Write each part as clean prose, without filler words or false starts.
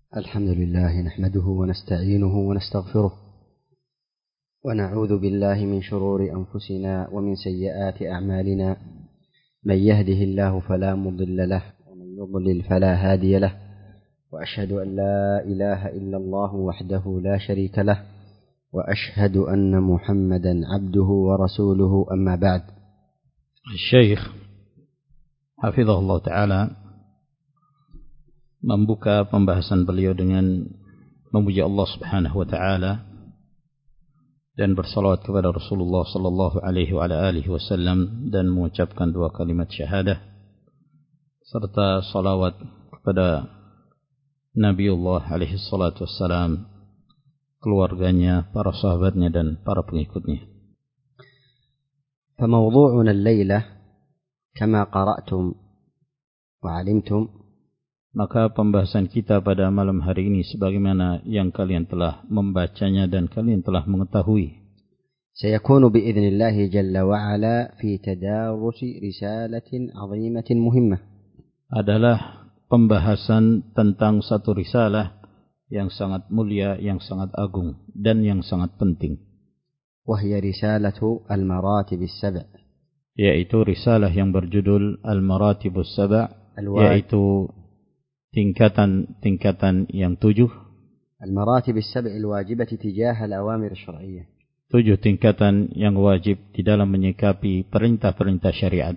الحمد لله نحمده ونستعينه ونستغفره ونعوذ بالله من شرور أنفسنا ومن سيئات أعمالنا. من يهده الله فلا مضل له ومن يضلل فلا هادي له، وأشهد أن لا إله إلا الله وحده لا شريك له، وأشهد أن محمدا عبده ورسوله. أما بعد. Syekh hafizahullah ta'ala membuka pembahasan beliau dengan memuji Allah Subhanahu wa taala dan bersalawat kepada Rasulullah sallallahu alaihi wa alihi wasallam dan mengucapkan dua kalimat syahadah serta salawat kepada Nabiullah alaihi salatu wassalam, keluarganya, para sahabatnya dan para pengikutnya. فموضوعنا الليلة كما قرأتم وعلمتم. Maka pembahasan kita pada malam hari ini sebagaimana yang kalian telah membacanya dan kalian telah mengetahui. سيكون بإذن الله جل وعلا في تدارس رسالة عظيمة مهمة. Adalah pembahasan tentang satu risalah yang sangat mulia, yang sangat agung dan yang sangat penting. وهي رسالة المراتب السبع. Yaitu risalah yang berjudul Al-Maratibus Sab', yaitu tingkatan-tingkatan yang 7. المراتب السبع الواجبة تجاه الأوامر الشرعية. 7 tingkatan yang wajib di dalam menyikapi perintah-perintah syariat.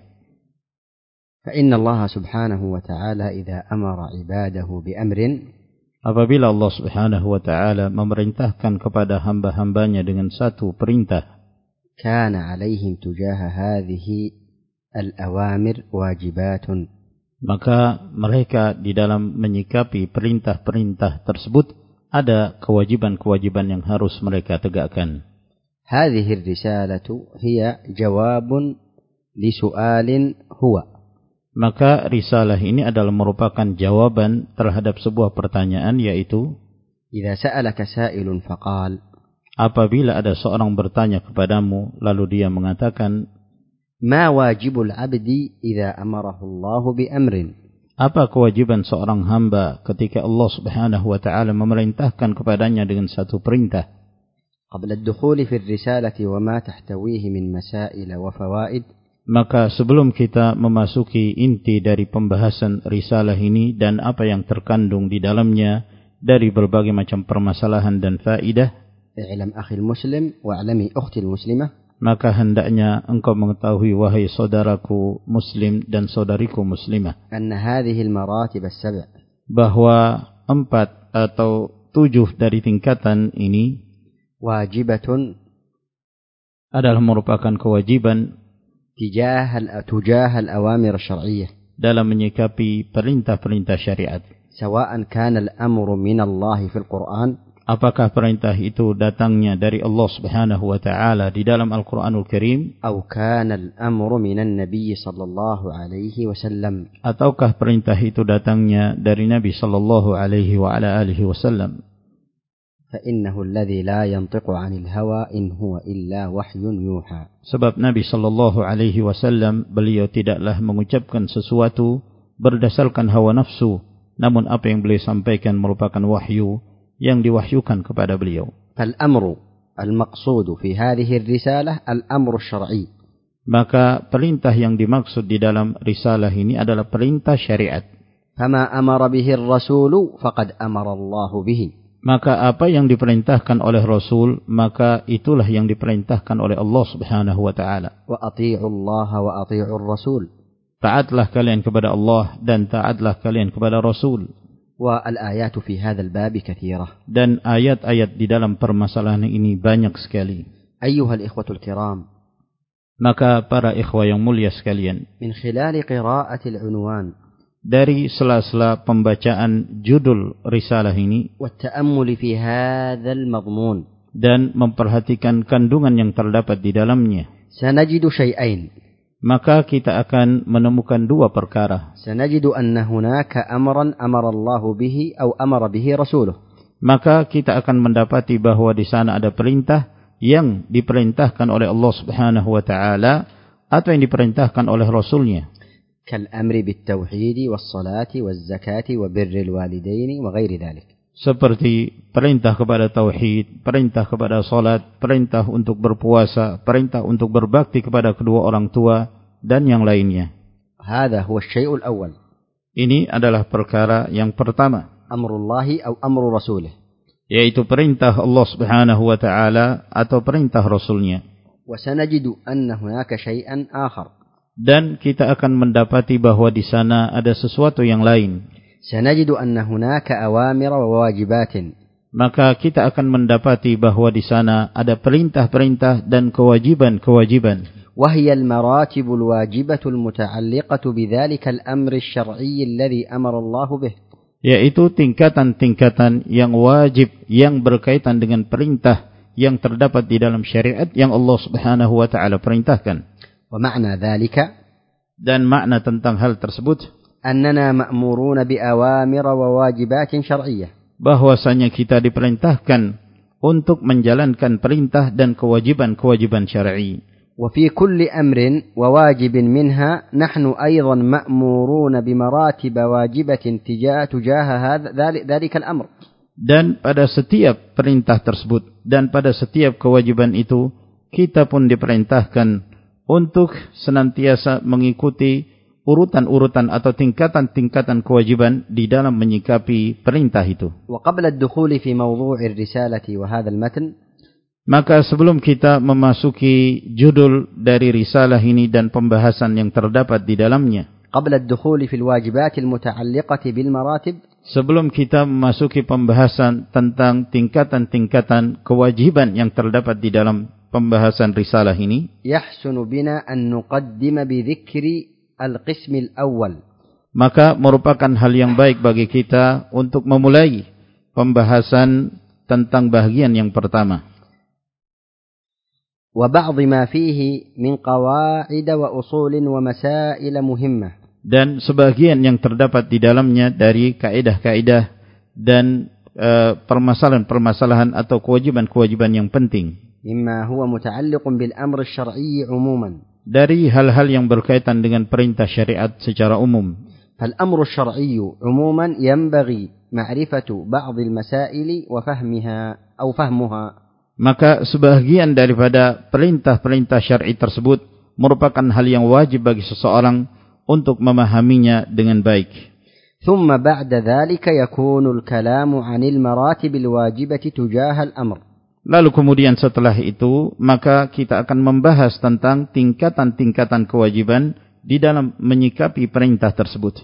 فإن الله سبحانه وتعالى إذا أمر عباده بأمر. Apabila Allah Subhanahu wa taala memerintahkan kepada hamba-hambanya dengan satu perintah, كان عليهم تجاه هذه الأوامر واجبات. Maka mereka di dalam menyikapi perintah-perintah tersebut ada kewajiban-kewajiban yang harus mereka tegakkan. هذه الرسالة هي جواب لسؤال هو. Maka risalah ini adalah merupakan jawaban terhadap sebuah pertanyaan, yaitu إذا سألك سائل فقال. Apabila ada seorang bertanya kepadamu lalu dia mengatakan, ما واجب العبد إذا أمره الله بأمر. Apa kewajiban seorang hamba ketika Allah Subhanahu wa taala memerintahkan kepadanya dengan satu perintah? قبل الدخول في الرسالة وما تحتويه من مسائل وفوائد. Maka sebelum kita memasuki inti dari pembahasan risalah ini dan apa yang terkandung di dalamnya dari berbagai macam permasalahan dan faidah, اعلم أخي المسلم واعلمي أختي المسلمة. maka hendaknya engkau mengetahui, wahai saudaraku muslim dan saudariku muslimah, أن هذه المراتب السبع. bahwa 4 atau 7 dari tingkatan ini واجبة. adalah merupakan kewajiban تجاه الأوامر الشرعية. dalam menyikapi perintah-perintah syariat. سواء كان الأمر من الله في القرآن. Apakah perintah itu datangnya dari Allah Subhanahu wa taala di dalam Al-Qur'anul Karim, أو كان الأمر من النبي صلى الله عليه وسلم. ataukah perintah itu datangnya dari Nabi sallallahu alaihi wa ala alihi wasallam. فإنه الذي لا ينطق عن الهوى إن هو إلا وحي يوحى. Sebab Nabi sallallahu alaihi wasallam beliau tidaklah mengucapkan sesuatu berdasarkan hawa nafsu, namun apa yang beliau sampaikan merupakan wahyu yang diwahyukan kepada beliau. فالأمر المقصود في هذه الرسالة الأمر الشرعي. Maka perintah yang dimaksud di dalam risalah ini adalah perintah syariat. فما أمر به الرسول فقد أمر الله به. Maka apa yang diperintahkan oleh Rasul, maka itulah yang diperintahkan oleh Allah Subhanahu wa taala. وأطيعوا الله وأطيعوا الرسول. Taatlah kalian kepada Allah dan taatlah kalian kepada Rasul. والآيات في هذا الباب كثيرة. Dan ayat-ayat di dalam permasalahan ini banyak sekali. أيها الإخوة الكرام. Maka para ikhwah yang mulia sekalian, من خلال قراءة العنوان. dari sela-sela pembacaan judul risalah ini والتأمل في هذا المضمون. dan memperhatikan kandungan yang terdapat di dalamnya, سنجد شيئين. maka kita akan menemukan 2 perkara. سنجد أن هناك أمرا أمر الله به أو أمر به رسوله. Maka kita akan mendapati bahwa di sana ada perintah yang diperintahkan oleh Allah Subhanahu wa taala atau yang diperintahkan oleh Rasulnya. كالأمر بالتوحيد والصلاة والزكاة وبر الوالدين وغير ذلك. seperti perintah kepada tauhid, perintah kepada salat, perintah untuk berpuasa, perintah untuk berbakti kepada kedua orang tua dan yang lainnya. هذا هو الشيء الأول. Ini adalah perkara yang pertama. أمر الله أو أمر رسوله. Yaitu perintah Allah Subhanahu wa taala atau perintah Rasulnya. وسنجد أن هناك شيئا آخر. Dan kita akan mendapati bahwa di sana ada sesuatu yang lain. سنجد أن هناك أوامر وواجبات. Maka kita akan mendapati bahwa di sana ada perintah-perintah dan kewajiban-kewajiban. وهي المراتب الواجبة المتعلقة بذلك الأمر الشرعي الذي أمر الله به. Yaitu tingkatan-tingkatan yang wajib yang berkaitan dengan perintah yang terdapat di dalam syariat yang Allah Subhanahu wa taala perintahkan. ومعنى ذلك, dan makna tentang hal tersebut, أننا مأمورون بأوامر وواجبات شرعية. bahwasanya kita diperintahkan untuk menjalankan perintah dan kewajiban-kewajiban syar'i. وفي كل أمر وواجب منها نحن أيضا مأمورون بمراتب واجبة تجاه ذلك الأمر. Dan pada setiap perintah tersebut dan pada setiap kewajiban itu kita pun diperintahkan untuk senantiasa mengikuti urutan-urutan atau tingkatan-tingkatan kewajiban di dalam menyikapi perintah itu. وقبل الدخول في موضوع الرسالة وهذا المتن, maka sebelum kita memasuki judul dari risalah ini dan pembahasan yang terdapat di dalamnya, قبل الدخول في الواجبات المتعلقة بالمراتب, sebelum kita memasuki pembahasan tentang tingkatan-tingkatan kewajiban yang terdapat di dalam pembahasan risalah ini, يحسن بنا أن نقدم بذكر القسم الأول. maka merupakan hal yang baik bagi kita untuk memulai pembahasan tentang bahagian yang pertama. وبعض ما فيه من قواعد وأصول ومسائل مهمة. Dan sebagian yang terdapat di dalamnya dari kaidah-kaidah dan permasalahan-permasalahan atau kewajiban-kewajiban yang penting. مما هو متعلق بالأمر الشرعي عموما. Dari hal-hal yang berkaitan dengan perintah syariat secara umum. فالأمر الشرعي عموما ينبغي معرفة بعض المسائل وفهمها أو فهمها. Maka sebahagian daripada perintah-perintah syar'i tersebut merupakan hal yang wajib bagi seseorang untuk memahaminya dengan baik. ثم بعد ذلك يكون الكلام عن المراتب الواجبة تجاه الأمر. Lalu kemudian setelah itu maka kita akan membahas tentang tingkatan-tingkatan kewajiban di dalam menyikapi perintah tersebut.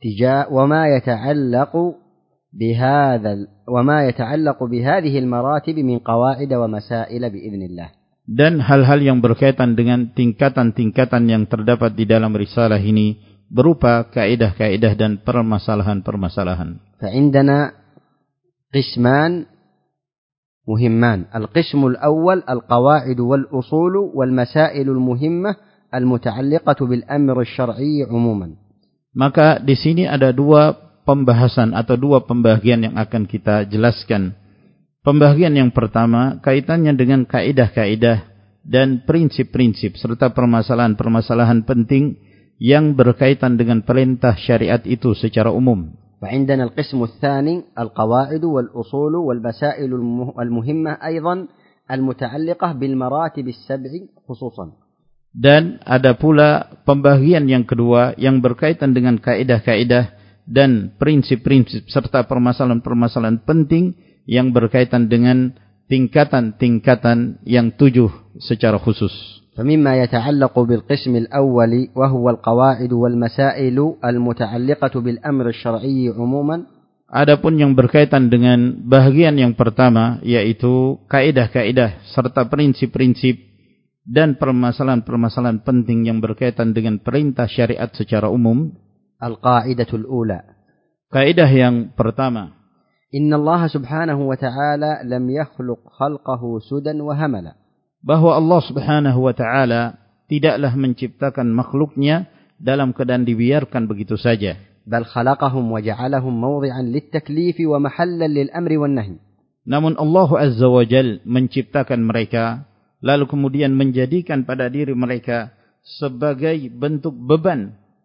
وما يتعلق بهذه المراتب من قواعد ومسائل بإذن الله. Dan hal-hal yang berkaitan dengan tingkatan-tingkatan yang terdapat di dalam risalah ini berupa kaidah-kaidah dan permasalahan-permasalahan. فعندنا قسمان مهمان. القسم الأول القواعد والأصول والمسائل المهمة المتعلقة بالأمر الشرعي عموما. Maka di sini ada dua pembahasan atau dua pembagian yang akan kita jelaskan. Pembagian yang pertama kaitannya dengan kaidah-kaidah dan prinsip-prinsip serta permasalahan-permasalahan penting yang berkaitan dengan perintah syariat itu secara umum. وعندنا القسم الثاني القواعد والأصول والمسائل المهمة أيضا المتعلقة بالمراتب السبع خصوصا. Dan ada pula pembagian yang kedua yang berkaitan dengan kaidah-kaidah dan prinsip-prinsip serta permasalahan-permasalahan penting yang berkaitan dengan tingkatan-tingkatan yang 7 secara khusus. فمما يتعلق بالقسم الأول وهو القواعد والمسائل المتعلقة بالأمر الشرعي عموما. Adapun yang berkaitan dengan bahagian yang pertama yaitu kaidah-kaidah serta prinsip-prinsip dan permasalahan-permasalahan penting yang berkaitan dengan perintah syariat secara umum. القاعدة الأولى. Kaidah yang pertama. إن الله سبحانه وتعالى لم يخلق خلقه سدى وهملا. Bahwa Allah Subhanahu wa taala tidaklah menciptakan makhluknya dalam keadaan dibiarkan begitu saja. بل خلقهم وجعلهم موضعا للتكليف ومحلا للأمر والنهي. Namun Allah Azza wa Jalla menciptakan mereka lalu kemudian menjadikan pada diri mereka sebagai bentuk beban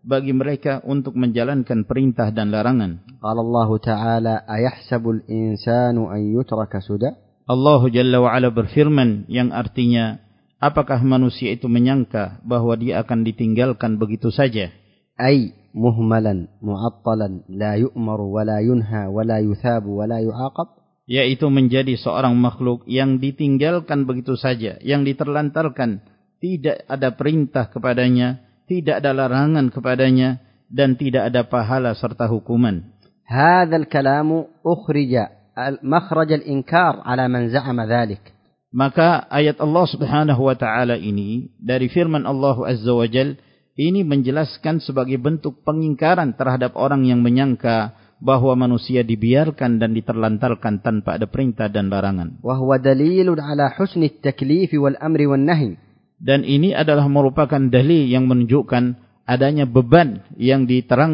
bagi mereka untuk menjalankan perintah dan larangan. قال الله تعالى أيحسب الإنسان أن يترك سدى. Allah Jalla wa'ala berfirman yang artinya, apakah manusia itu menyangka bahwa dia akan ditinggalkan begitu saja? أي مهملا معطلا لا يؤمر ولا ينهى ولا يثاب ولا يعاقب. Yaitu menjadi seorang makhluk yang ditinggalkan begitu saja, yang diterlantarkan, tidak ada perintah kepadanya, tidak ada larangan kepadanya, dan tidak ada pahala serta hukuman. هذا الكلام أخرج مخرج الإنكار على من زعم ذلك. Maka ayat Allah Subhanahu wa taala ini dari firman Allah Azza wa Jal ini menjelaskan sebagai bentuk pengingkaran terhadap orang yang menyangka bahwa manusia dibiarkan dan diterlantarkan tanpa ada perintah dan larangan. وهو دليل على حسن التكليف والأمر والنهي. Dan ini adalah merupakan dalil yang menunjukkan adanya beban yang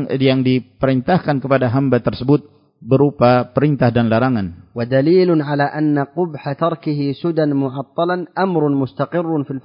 diperintahkan kepada hamba tersebut berupa perintah dan larangan. ودليل على أن قبح تركه سدى معطلا أمر مستقر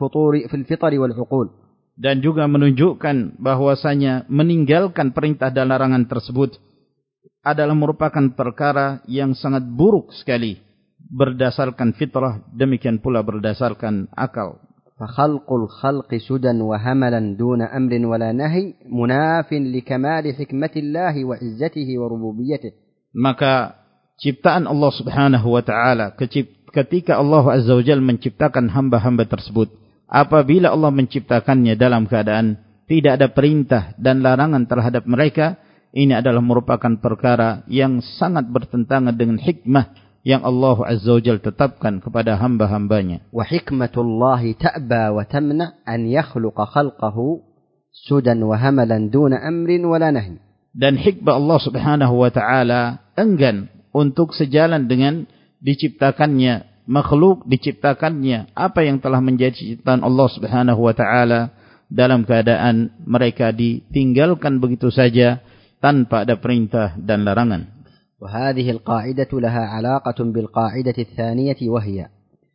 في الفطر والعقول. Dan juga menunjukkan bahwasanya meninggalkan perintah dan larangan tersebut adalah merupakan perkara yang sangat buruk sekali berdasarkan fitrah, demikian pula berdasarkan akal. فخلق الخلق سدى وهملا دون أمر ولا نهي مناف لكمال حكمة الله وعزته وربوبيته. Maka ciptaan Allah Subhanahu wa taala ketika Allah Azza wa Jalla menciptakan hamba-hamba tersebut, apabila Allah menciptakannya dalam keadaan tidak ada perintah dan larangan terhadap mereka, ini adalah merupakan perkara yang sangat bertentangan dengan hikmah yang Allah Azza wa Jalla tetapkan kepada hamba-hambanya. Wa hikmatullahi ta'ba wa tamna an yakhluqa khalqahu sudan wa hamalan duna amrin wala nahy. Dan hikmah Allah Subhanahu wa taala enggan untuk sejalan dengan diciptakannya makhluk, diciptakannya apa yang telah menjadi ciptaan Allah Subhanahu wa taala dalam keadaan mereka ditinggalkan begitu saja tanpa ada perintah dan larangan. وهذه القاعدة لها علاقة بالقاعدة الثانية وهي.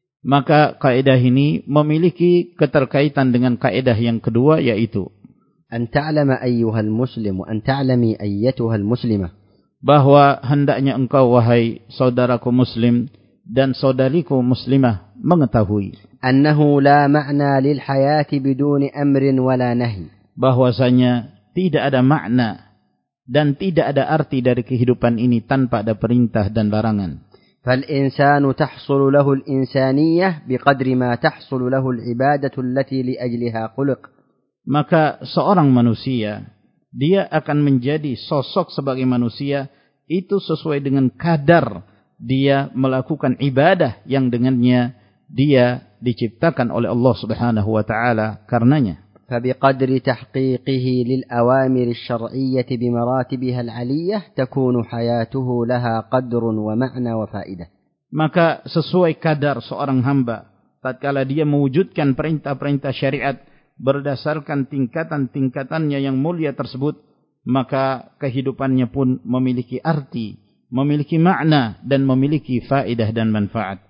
Maka kaidah ini memiliki keterkaitan dengan kaidah yang kedua, yaitu أن تعلم أيها المسلم وأن تعلمي أيتها المسلمة. Bahwa hendaknya engkau wahai saudaraku muslim dan saudariku muslimah mengetahui أنه لا معنى للحياة بدون أمر ولا نهي. Bahwasanya tidak ada makna dan tidak ada arti dari kehidupan ini tanpa ada perintah dan larangan. فالإنسان تحصل له الإنسانية بقدر ما تحصل له العبادة التي لأجلها خلق. Maka seorang manusia dia akan menjadi sosok sebagai manusia itu sesuai dengan kadar dia melakukan ibadah yang dengannya dia diciptakan oleh Allah Subhanahu wa taala karenanya. فبقدر تحقيقه للأوامر الشرعية بمراتبها العلية تكون حياته لها قدر ومعنى وفائدة. Maka sesuai kadar seorang hamba tatkala dia mewujudkan perintah-perintah syariat berdasarkan tingkatan-tingkatannya yang mulia tersebut, maka kehidupannya pun memiliki arti, memiliki makna dan memiliki faedah dan manfaat.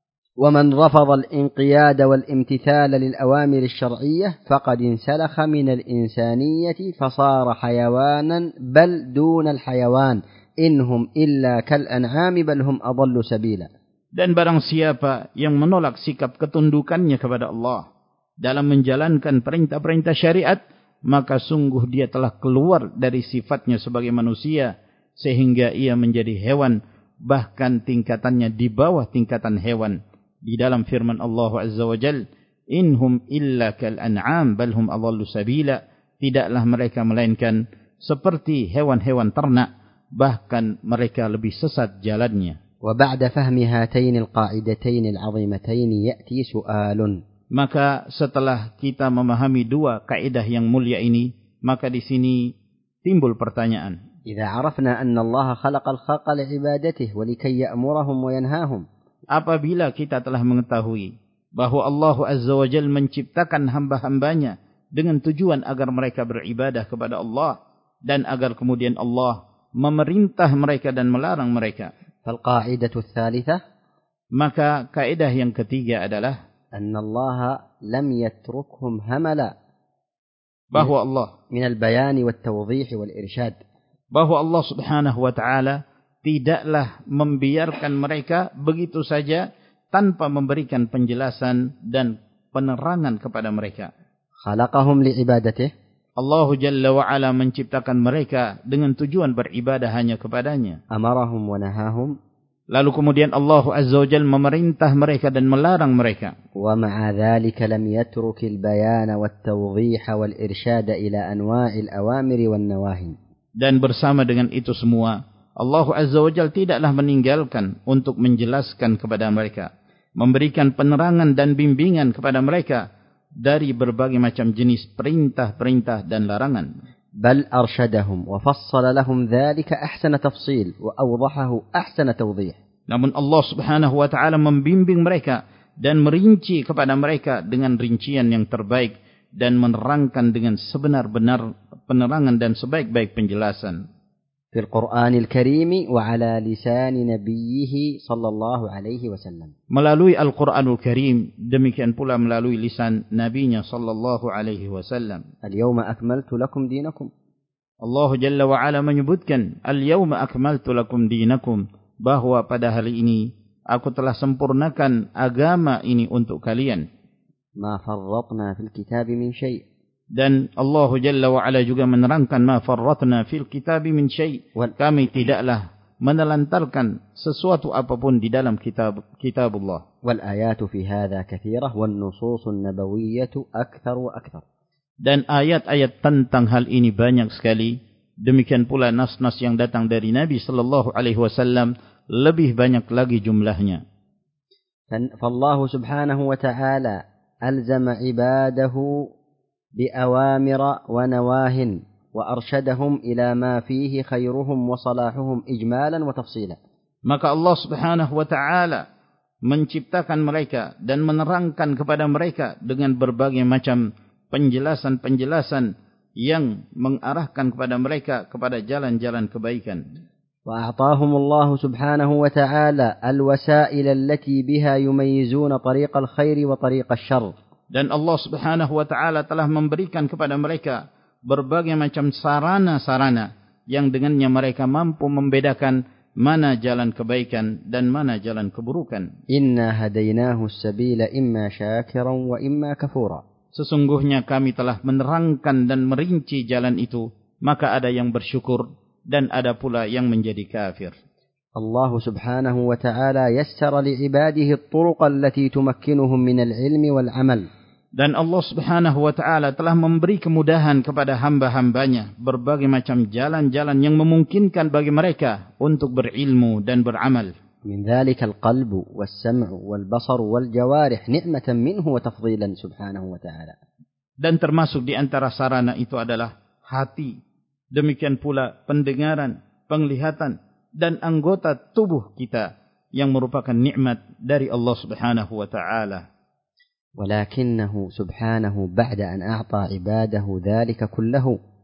ومن رفض الانقياد والامتثال للأوامر الشرعية فقد انسلخ من الإنسانية فصار حيوانا بل دون الحيوان إنهم إلا كالأنعام بل هم أضل سبيلا. Dan barang siapa yang menolak sikap ketundukannya kepada Allah dalam menjalankan perintah-perintah syariat, maka sungguh dia telah keluar dari sifatnya sebagai manusia sehingga ia menjadi hewan, bahkan tingkatannya di bawah tingkatan hewan. Di dalam firman Allah Azza wa Jal, inhum illa kal an'am bal hum adallu sabila. Tidaklah mereka melainkan seperti hewan-hewan ternak, bahkan mereka lebih sesat jalannya. وبعد فهم هاتين القاعدتين العظيمتين يأتي سؤال. Maka setelah kita memahami dua kaidah yang mulia ini, maka di sini timbul pertanyaan. إذا عرفنا أن الله خلق الخلق لعبادته ولكي يأمرهم وينهاهم. Apabila kita telah mengetahui bahwa Allah Azza wa Jalla menciptakan hamba-hambanya dengan tujuan agar mereka beribadah kepada Allah dan agar kemudian Allah memerintah mereka dan melarang mereka. فالقاعدة الثالثة. Maka kaidah yang ketiga adalah أن الله لم يتركهم هملا bahwa Allah من البيان والتوضيح والإرشاد bahwa Allah Subhanahu wa taala tidaklah membiarkan mereka begitu saja tanpa memberikan penjelasan dan penerangan kepada mereka. خلقهم لعبادته Allah Jalla wa Ala menciptakan mereka dengan tujuan beribadah hanya kepadanya. أمرهم ونهاهم Lalu kemudian Allah Azza wa Jalla memerintah mereka dan melarang mereka. ومع ذلك لم يترك البيان والتوضيح والإرشاد إلى أنواع الأوامر والنواهي. Dan bersama dengan itu semua, Allah Azza wa Jalla tidaklah meninggalkan untuk menjelaskan kepada mereka, memberikan penerangan dan bimbingan kepada mereka dari berbagai macam jenis perintah-perintah dan larangan. بل أرشدهم وفصل لهم ذلك أحسن تفصيل وأوضحه أحسن توضيح. Namun Allah Subhanahu wa taala membimbing mereka dan merinci kepada mereka dengan rincian yang terbaik dan menerangkan dengan sebenar-benar penerangan dan sebaik-baik penjelasan. في القرآن الكريم وعلى لسان نبيه صلى الله عليه وسلم. Melalui Al-Quranul Karim, demikian pula melalui lisan Nabinya sallallahu alaihi wasallam. اليوم أكملت لكم دينكم. Allah Jalla wa Ala menyebutkan, Al-yawma akmaltu lakum dinakum, bahwa pada hari ini aku telah sempurnakan agama ini untuk kalian. ما فرطنا في الكتاب من شيء. Dan Allah Jalla wa Ala juga menerangkan, ma farratna fil kitabi min syai'. Kami tidaklah menelantarkan sesuatu apapun di dalam kitabullah. والآيات في هذا كثيرة والنصوص النبوية أكثر وأكثر. Dan ayat-ayat tentang hal ini banyak sekali. Demikian pula nas-nas yang datang dari Nabi sallallahu alaihi wasallam lebih banyak lagi jumlahnya. فالله سبحانه وتعالى ألزم عباده بأوامر ونواه وأرشدهم إلى ما فيه خيرهم وصلاحهم إجمالا وتفصيلا. Maka Allah Subhanahu wa taala menciptakan mereka dan menerangkan kepada mereka dengan berbagai macam penjelasan-penjelasan yang mengarahkan kepada mereka kepada jalan-jalan kebaikan. وأعطاهم الله سبحانه وتعالى الوسائل التي بها يميزون طريق الخير وطريق الشر. Dan Allah Subhanahu wa taala telah memberikan kepada mereka berbagai macam sarana-sarana yang dengannya mereka mampu membedakan mana jalan kebaikan dan mana jalan keburukan. Inna hadainahu as-sabila imma syakiran wa imma kafura. Sesungguhnya kami telah menerangkan dan merinci jalan itu, maka ada yang bersyukur dan ada pula yang menjadi kafir. Allah subhanahu wa ta'ala yassara li'ibadihi at-turuq allati tumakkinuhum min al-'ilmi wal-'amal. Dan Allah Subhanahu wa taala telah memberi kemudahan kepada hamba-hambanya berbagai macam jalan-jalan yang memungkinkan bagi mereka untuk berilmu dan beramal. Min dzalika al-qalbu was-sam'u wal-basaru wal-jawarih ni'matan minhu wa tafdhilan subhanahu wa ta'ala. Dan termasuk di antara sarana itu adalah hati, demikian pula pendengaran, penglihatan dan anggota tubuh kita yang merupakan nikmat dari Allah Subhanahu wa taala. ولكنه سبحانه بعد أن أعطى عباده ذلك كله.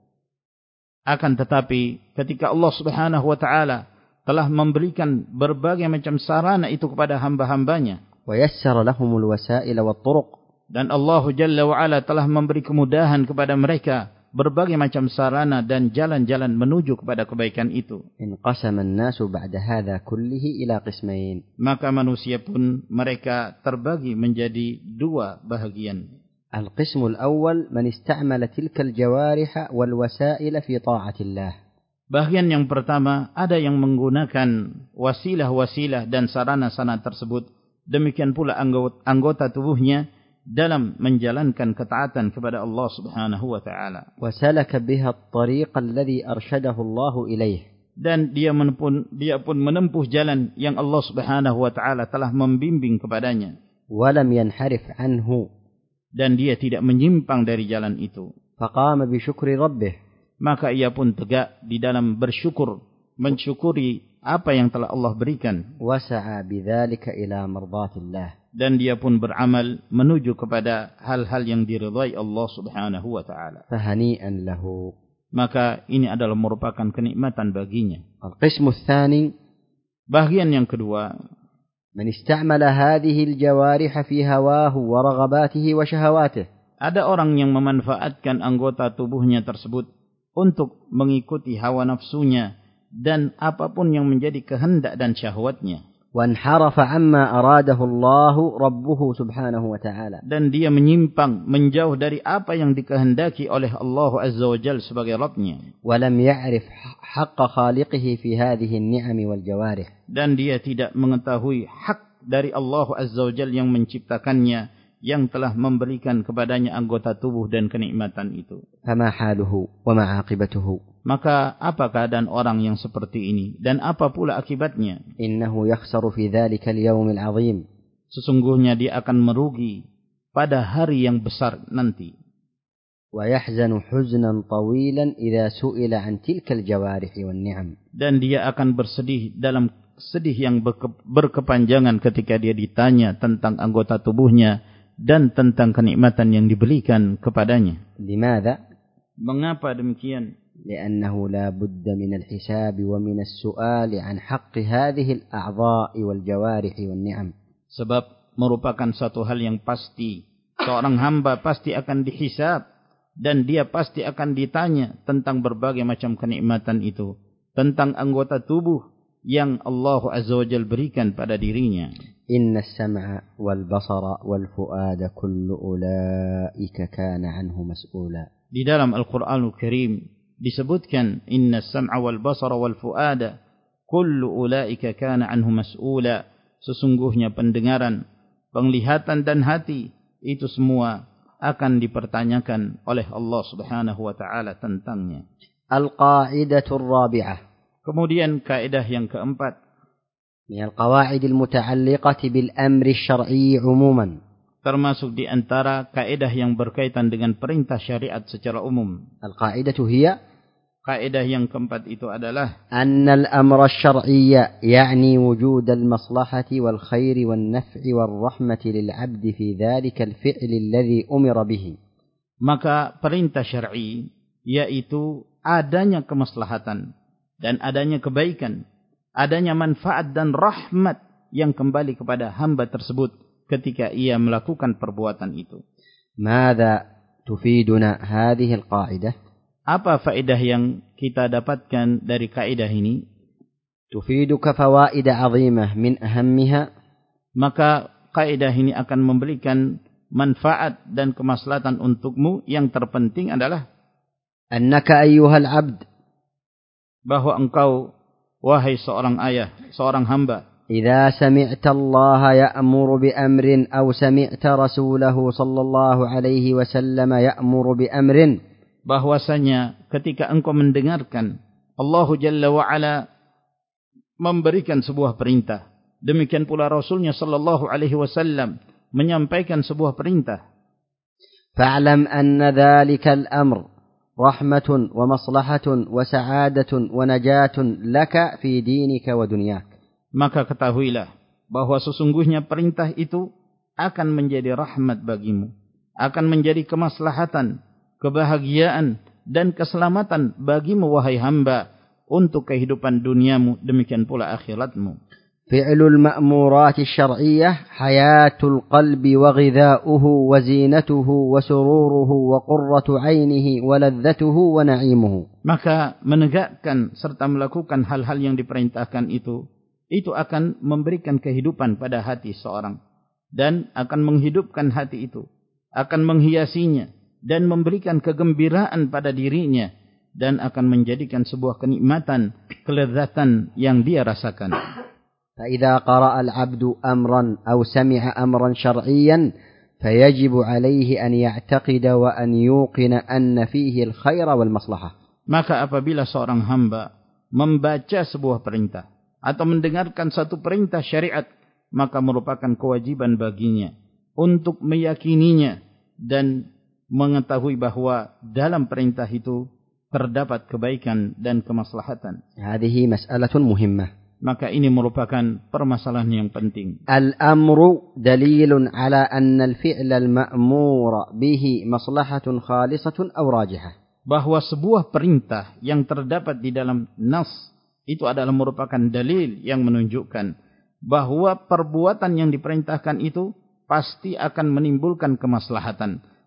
Akan tetapi ketika Allah Subhanahu wa taala telah memberikan berbagai macam sarana itu kepada hamba-hambanya, ويسر لهم الوسائل والطرق. Dan Allah Jalla wa Ala telah memberi kemudahan kepada mereka berbagai macam sarana dan jalan-jalan menuju kepada kebaikan itu. انقسم الناس بعد هذا كله إلى قسمين. Maka manusia pun mereka terbagi menjadi dua bahagian. القسم الأول من استعمل تلك الجوارح والوسائل في طاعة الله. Bahagian yang pertama, ada yang menggunakan wasilah-wasilah dan sarana-sarana tersebut, demikian pula anggota tubuhnya dalam menjalankan ketaatan kepada Allah Subhanahu wa taala. وسلك بها الطريق الذي أرشده الله إليه. Dan dia pun menempuh jalan yang Allah Subhanahu wa taala telah membimbing kepadanya. ولم ينحرف عنه. Dan dia tidak menyimpang dari jalan itu. فقام بشكر ربه. Maka ia pun tegak di dalam bersyukur, mensyukuri apa yang telah Allah berikan. وسعى بذلك إلى مرضات الله. Dan dia pun beramal menuju kepada hal-hal yang diridhai Allah Subhanahu wa taala. فهنيئا له. Maka ini adalah merupakan kenikmatan baginya. القسم الثاني. Bahagian yang kedua, من استعمل هذه الجوارح في هواه ورغباته وشهواته. ada orang yang memanfaatkan anggota tubuhnya tersebut untuk mengikuti hawa nafsunya dan apapun yang menjadi kehendak dan syahwatnya. وانحرف عما أراده الله ربه سبحانه وتعالى. Dan dia menyimpang, menjauh dari apa yang dikehendaki oleh Allah Azza wa Jalla sebagai Rabbnya. ولم يعرف حق خالقه في هذه النعم والجوارح. Dan dia tidak mengetahui hak dari Allah Azza wa Jalla yang menciptakannya, yang telah memberikan kepadanya anggota tubuh dan kenikmatan itu. فما حاله وما عاقبته. Maka apa keadaan orang yang seperti ini dan apa pula akibatnya? إنه يخسر في ذلك اليوم العظيم. Sesungguhnya dia akan merugi pada hari yang besar nanti. ويحزن حزنا طويلا إذا سئل عن تلك الجوارح والنعم. Dan dia akan bersedih dalam sedih yang berkepanjangan ketika dia ditanya tentang anggota tubuhnya dan tentang kenikmatan yang diberikan kepadanya. لماذا؟ Mengapa demikian? لأنه لا بد من الحساب ومن السؤال عن حق هذه الأعضاء والجوارح والنعم. Sebab merupakan satu hal yang pasti. Seorang hamba pasti akan dihisab dan dia pasti akan ditanya tentang berbagai macam kenikmatan itu, tentang anggota tubuh yang Allah Azza wa Jalla berikan pada dirinya. إن السمع والبصر والفؤاد كل أولئك كان عنه مسؤولا. Di dalam Al-Qur'anul Karim disebutkan inna sam'a wal basara wal fuada kullu ulaika kana anhu mas'ula. Sesungguhnya pendengaran, penglihatan dan hati itu semua akan dipertanyakan oleh Allah Subhanahu wa taala tentangnya. Al-qaidatul rabi'ah. Kemudian kaidah yang keempat, min al-qawaid al-muta'alliqah bil amri asy-syar'i 'umuman. Termasuk di antara kaidah yang berkaitan dengan perintah syariat secara umum. Al-qaidatu hiya, kaidah yang keempat itu adalah anna al-amra asy-syar'iyya ya'ni wujud al-maslahati wal khairi wan naf'i war rahmati lil 'abdi fi dhalika al-fi'l alladhi umira bihi. Maka perintah syar'i yaitu adanya kemaslahatan dan adanya kebaikan, adanya manfaat dan rahmat yang kembali kepada hamba tersebut ketika ia melakukan perbuatan itu. Mada tufiduna hadhihi al-qa'idah? Apa faedah yang kita dapatkan dari kaidah ini? Tufiduka fawaid 'azimah min ahammiha. Maka kaidah ini akan memberikan manfaat dan kemaslahatan untukmu. Yang terpenting adalah annaka ayyuhal 'abd, bahwa engkau wahai seorang ayah, seorang hamba, إذا سمعت الله يأمر بأمر أو سمعت رسوله صلى الله عليه وسلم يأمر بأمر, bahwasanya ketika engkau mendengarkan Allah Jalla wa'ala memberikan sebuah perintah, demikian pula Rasulnya sallallahu alaihi wasallam menyampaikan sebuah perintah, fa'lam anna dhalika al-amr rahmatun wa maslahatun wa sa'adatun wa najatun laka fi dinika wa dunyak. Maka ketahuilah bahwa sesungguhnya perintah itu akan menjadi rahmat bagimu, akan menjadi kemaslahatan, kebahagiaan dan keselamatan bagimu wahai hamba untuk kehidupan duniamu, demikian pula akhiratmu. Fi'lul ma'murati syar'iyyah hayatul qalbi wa ghidha'uhu wa zinatuhu wa sururuhu wa qurratu 'ainihi wa ladzatuhu wa na'imuhu. Maka menegakkan serta melakukan hal-hal yang diperintahkan itu akan memberikan kehidupan pada hati seorang dan akan menghidupkan hati itu, akan menghiasinya dan memberikan kegembiraan pada dirinya dan akan menjadikan sebuah kenikmatan, kelezatan yang dia rasakan. فإذا قرأ العبد أمرا أو سمع أمرا شرعيا فيجب عليه أن يعتقد وأن يوقن أن فيه الخير والمصلحة. Maka apabila seorang hamba membaca sebuah perintah atau mendengarkan satu perintah syariat, maka merupakan kewajiban baginya untuk meyakininya dan mengetahui bahwa dalam perintah itu terdapat kebaikan dan kemaslahatan. Hadhihi mas'alatun muhimmah. Maka ini merupakan permasalahan yang penting. Al-amru dalilun ala anna al-fi'la al-ma'mura bihi maslahatun khalisatun aw rajihah. Bahwa sebuah perintah yang terdapat di dalam nas itu adalah merupakan dalil yang menunjukkan bahwa perbuatan yang diperintahkan itu pasti akan menimbulkan kemaslahatan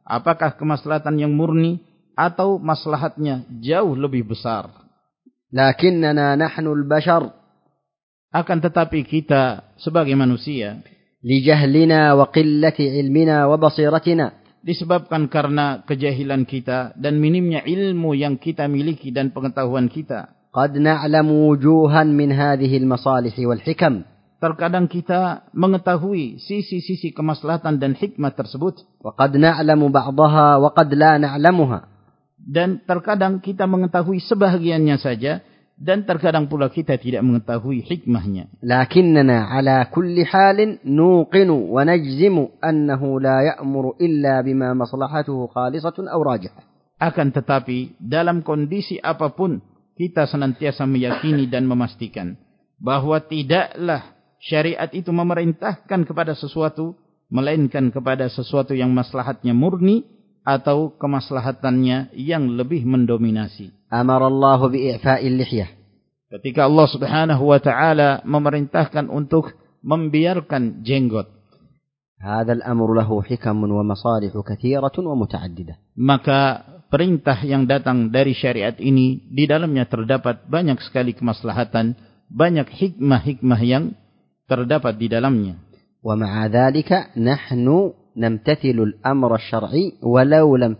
Apakah kemaslahatan yang murni atau maslahatnya jauh lebih besar? Lakinnana nahnu al-bashar. Akan tetapi kita sebagai manusia, lijahlina wa qillati ilmina wa basiratina, disebabkan karena kejahilan kita dan minimnya ilmu yang kita miliki dan pengetahuan kita, qad na'lamu wujuhan min hadhihi al-masalih wal hikam. Terkadang kita mengetahui sisi-sisi kemaslahatan dan hikmah tersebut. Wa qad na'lamu ba'daha wa qad la na'lamuha. Dan terkadang kita mengetahui sebahagiannya saja dan terkadang pula kita tidak mengetahui hikmahnya. Lakinnana ala kulli halin nuqinu wa najzimu annahu la ya'muru illa bima maslahatuhu khalisatun aw rajihah. Akan tetapi dalam kondisi apapun kita senantiasa meyakini dan memastikan bahwa tidaklah syariat itu memerintahkan kepada sesuatu melainkan kepada sesuatu yang maslahatnya murni atau kemaslahatannya yang lebih mendominasi. Amarallahu bi'ifa'il lihyah. Ketika Allah Subhanahu wa taala memerintahkan untuk membiarkan jenggot. Hadzal amru lahu hikamun wa masalih katsiratun wa muta'addidah. Maka perintah yang datang dari syariat ini di dalamnya terdapat banyak sekali kemaslahatan, banyak hikmah-hikmah yang terdapat di dalamnya. Wa ma'a dzalika nahnu namtathilu al-amra asy-syar'i walau lam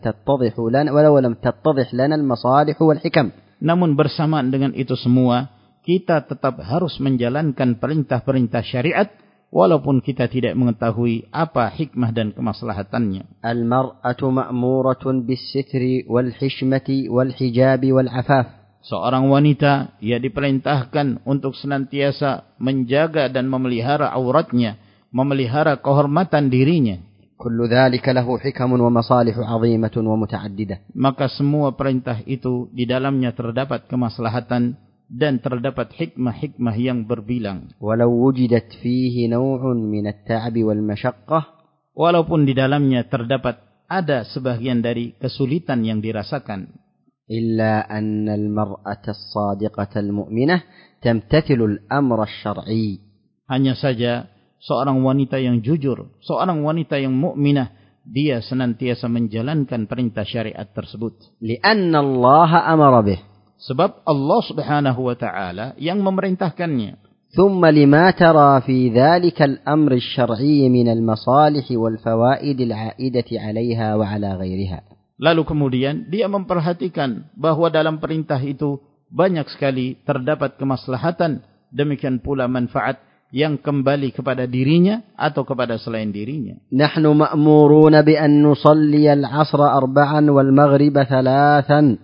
tattadhih lana al-masalih wal hikam. Namun bersamaan dengan itu semua, kita tetap harus menjalankan perintah-perintah syariat walaupun kita tidak mengetahui apa hikmah dan kemaslahatannya. Al-mar'atu ma'muratun bis-sitri wal hishmati wal hijabi wal 'afaf. Seorang wanita ia diperintahkan untuk senantiasa menjaga dan memelihara auratnya, memelihara kehormatan dirinya. Kullu dzalika lahu hikamun wa masalihu 'azimatun wa muta'addidah. Maka semua perintah itu di dalamnya terdapat kemaslahatan dan terdapat hikmah-hikmah yang berbilang. Walau wujidat fihi naw'un min at-ta'ab wal mashaqqah, walaupun di dalamnya terdapat ada sebagian dari kesulitan yang dirasakan. إلا أن المرأة الصادقة المؤمنة تمتثل الأمر الشرعي. Hanya saja seorang wanita yang jujur, seorang wanita yang mukminah, dia senantiasa menjalankan perintah syariat tersebut. لأن الله أمر به. Sebab Allah Subhanahu wa taala yang memerintahkannya. ثم لما ترى في ذلك الأمر الشرعي من المصالح والفوائد العائدة عليها وعلى غيرها. Lalu kemudian dia memperhatikan bahwa dalam perintah itu banyak sekali terdapat kemaslahatan, demikian pula manfaat yang kembali kepada dirinya atau kepada selain dirinya. Nahnu ma'muruna bi an nusalli al-'asra 4 wal maghrib 3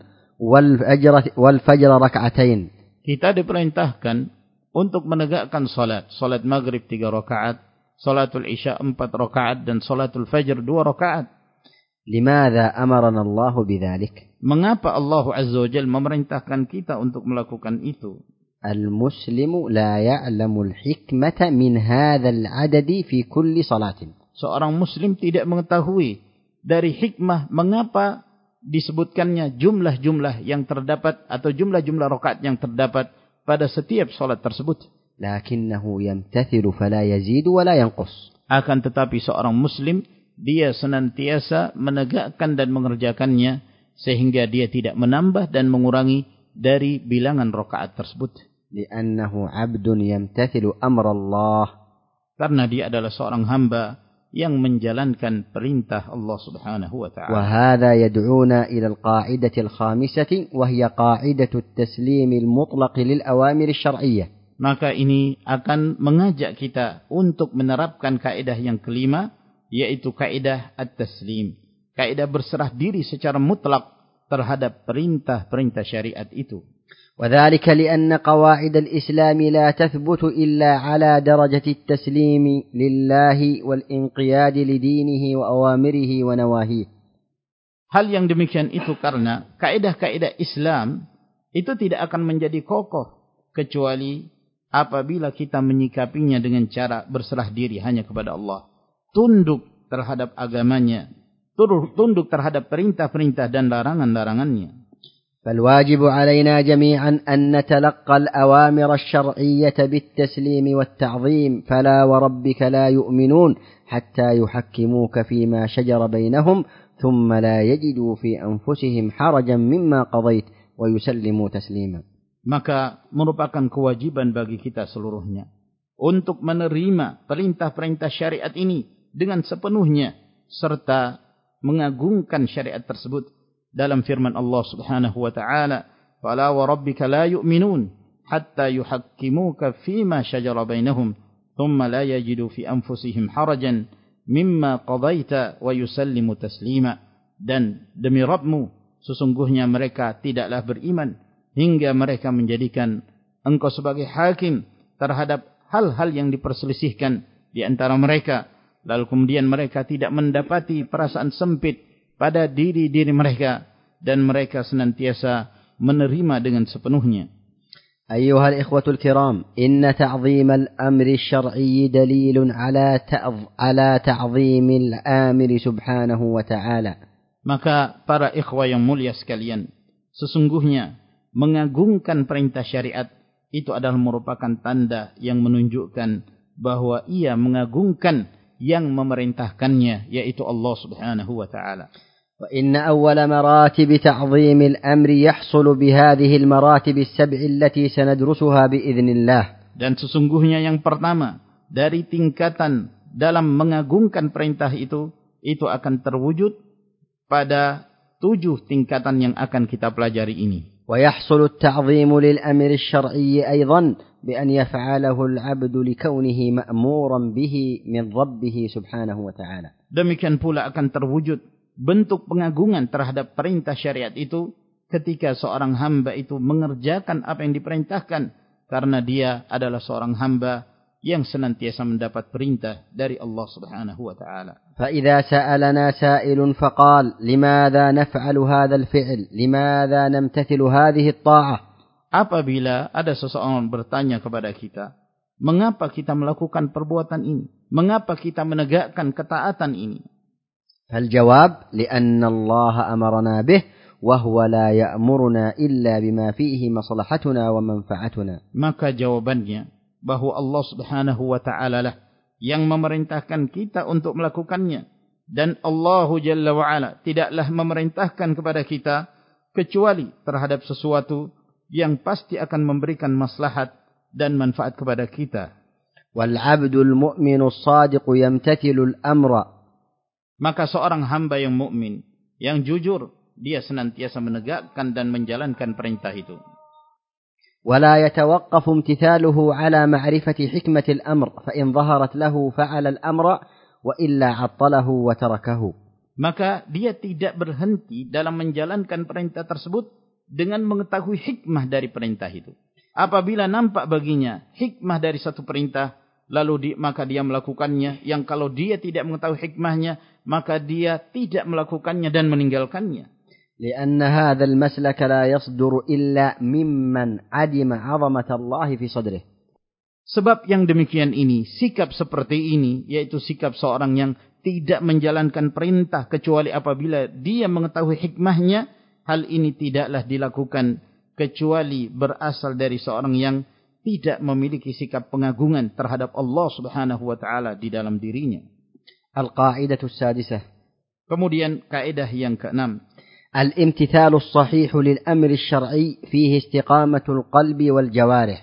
wal fajr rak'atain. Kita diperintahkan untuk menegakkan salat maghrib 3 rakaat, salatul isya 4 rakaat dan salatul fajr 2 rakaat. Limadha amarana Allah bidzalik? Mengapa Allah Azza wa Jalla memerintahkan kita untuk melakukan itu? Al-muslimu la ya'lamu al-hikmata min hadzal 'adadi fi kulli salatin. Seorang muslim tidak mengetahui dari hikmah mengapa disebutkannya jumlah-jumlah yang terdapat atau jumlah-jumlah rakaat yang terdapat pada setiap salat tersebut. Lakinnahu yamtathilu fala yazidu wa la yanqus. Akan tetapi seorang muslim dia senantiasa menegakkan dan mengerjakannya sehingga dia tidak menambah dan mengurangi dari bilangan rakaat tersebut. Li'annahu 'abdun yamtathilu amra Allah. Karena dia adalah seorang hamba yang menjalankan perintah Allah Subhanahu wa taala. Wa hadha yad'una ila al-qa'idati al-khamisati wa hiya qa'idatu at-taslim al-mutlaq lil awamir asy-syar'iyyah. Maka ini akan mengajak kita untuk menerapkan kaidah yang kelima, yaitu kaidah at-taslim, kaidah berserah diri secara mutlak terhadap perintah-perintah syariat itu. وذلك لأن قواعد الإسلام لا تثبت إلا على درجة التسليم لله والانقياد لدينه وأوامره ونواهيه. Hal yang demikian itu karena kaidah-kaidah Islam itu tidak akan menjadi kokoh kecuali apabila kita menyikapinya dengan cara berserah diri hanya kepada Allah, tunduk terhadap agamanya, tunduk terhadap perintah-perintah dan larangan-larangannya. فالواجب علينا جميعا أن نتلقى الأوامر الشرعية بالتسليم والتعظيم فلا وربك لا يؤمنون حتى يحكموك فيما شجر بينهم ثم لا يجدوا في أنفسهم حرجا مما قضيت ويسلموا تسليما. Maka merupakan kewajiban bagi kita seluruhnya untuk menerima perintah-perintah syariat ini dengan sepenuhnya serta mengagungkan syariat tersebut dalam firman Allah Subhanahu wa taala, "Fala wa rabbika la yu'minun hatta yuhakkimuka fima shajara bainahum thumma la yajidu fi anfusihim harajan mimma qadaita wa yusallimu taslima." Dan demi Rabbmu, sesungguhnya mereka tidaklah beriman hingga mereka menjadikan engkau sebagai hakim terhadap hal-hal yang diperselisihkan di antara mereka, lalu kemudian mereka tidak mendapati perasaan sempit pada diri-diri mereka dan mereka senantiasa menerima dengan sepenuhnya. أيها الإخوة الكرام، إن تعظيم الأمر الشرعي دليل على تعظيم الآمر سبحانه وتعالى. Maka para ikhwah yang mulia sekalian, sesungguhnya mengagungkan perintah syariat itu adalah merupakan tanda yang menunjukkan bahwa ia mengagungkan yang memerintahkannya, yaitu Allah Subhanahu wa taala. وإن أول مراتب تعظيم الأمر يحصل بهذه المراتب السبع التي سندرسها بإذن الله. Dan sesungguhnya yang pertama dari tingkatan dalam mengagungkan perintah itu akan terwujud pada 7 tingkatan yang akan kita pelajari ini. ويحصل التعظيم للأمر الشرعي أيضا بأن يفعله العبد لكونه مأمورا به من ربه سبحانه وتعالى. Demikian pula akan terwujud bentuk pengagungan terhadap perintah syariat itu ketika seorang hamba itu mengerjakan apa yang diperintahkan karena dia adalah seorang hamba yang senantiasa mendapat perintah dari Allah Subhanahu wa taala. فإذا سألنا سائل فقال لماذا نفعل هذا الفعل؟ لماذا نمتثل هذه الطاعة؟ Apabila ada seseorang bertanya kepada kita, mengapa kita melakukan perbuatan ini? Mengapa kita menegakkan ketaatan ini? فالجواب لأن الله أمرنا به وهو لا يأمرنا إلا بما فيه مصلحتنا ومنفعتنا. Maka jawabannya bahwa Allah Subhanahu wa taala lah yang memerintahkan kita untuk melakukannya, dan Allah Jalla wa Ala tidaklah memerintahkan kepada kita kecuali terhadap sesuatu yang pasti akan memberikan maslahat dan manfaat kepada kita. وَالْعَبْدُ الْمُؤْمِنُ الصَّادِقُ يَمْتَثِلُ الْأَمْرَ. Maka seorang hamba yang mukmin, yang jujur, dia senantiasa menegakkan dan menjalankan perintah itu. ولا يتوقف امتثاله على معرفة حكمة الأمر فإن ظهرت له فعل الأمر وإلا عطله وتركه. Maka dia tidak berhenti dalam menjalankan perintah tersebut dengan mengetahui hikmah dari perintah itu. Apabila nampak baginya hikmah dari satu perintah, lalu maka dia melakukannya. Yang kalau dia tidak mengetahui hikmahnya, maka dia tidak melakukannya dan meninggalkannya. لأن هذا المسلك لا يصدر إلا ممن عدم عظمة الله في صدره. Sebab yang demikian ini, sikap seperti ini, yaitu sikap seorang yang tidak menjalankan perintah kecuali apabila dia mengetahui hikmahnya, hal ini tidaklah dilakukan kecuali berasal dari seorang yang tidak memiliki sikap pengagungan terhadap Allah Subhanahu wa taala di dalam dirinya. Al-qa'idatu as-sadisah. Kemudian kaidah yang keenam, الامتثال الصحيح للأمر الشرعي فيه استقامة القلب والجوارح.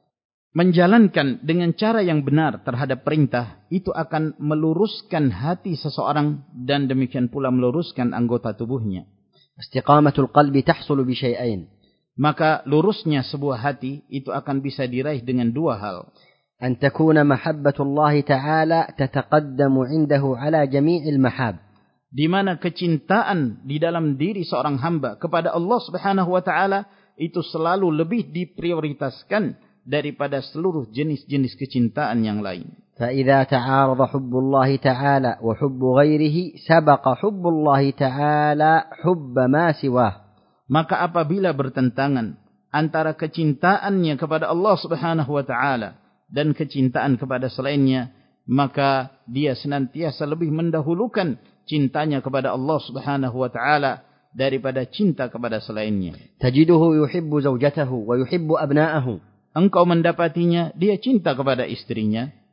Menjalankan dengan cara yang benar terhadap perintah itu akan meluruskan hati seseorang dan demikian pula meluruskan anggota tubuhnya. استقامة القلب تحصل بشيئين. Maka lurusnya sebuah hati itu akan bisa diraih dengan 2 hal. أن تكون محبة الله تعالى تتقدم عنده على جميع المحاب. Di mana kecintaan di dalam diri seorang hamba kepada Allah Subhanahu wa taala itu selalu lebih diprioritaskan daripada seluruh jenis-jenis kecintaan yang lain. فإذا تعارض حب الله تعالى وحب غيره سبق حب الله تعالى حب ما سواه. Maka apabila bertentangan antara kecintaannya kepada Allah Subhanahu wa taala dan kecintaan kepada selainnya, maka dia senantiasa lebih mendahulukan cintanya kepada Allah Subhanahu wa taala daripada cinta kepada selainnya. Tajiduhu yuhibbu zawjatahu wa yuhibbu abna'ahu. Engkau mendapatinya dia cinta kepada istrinya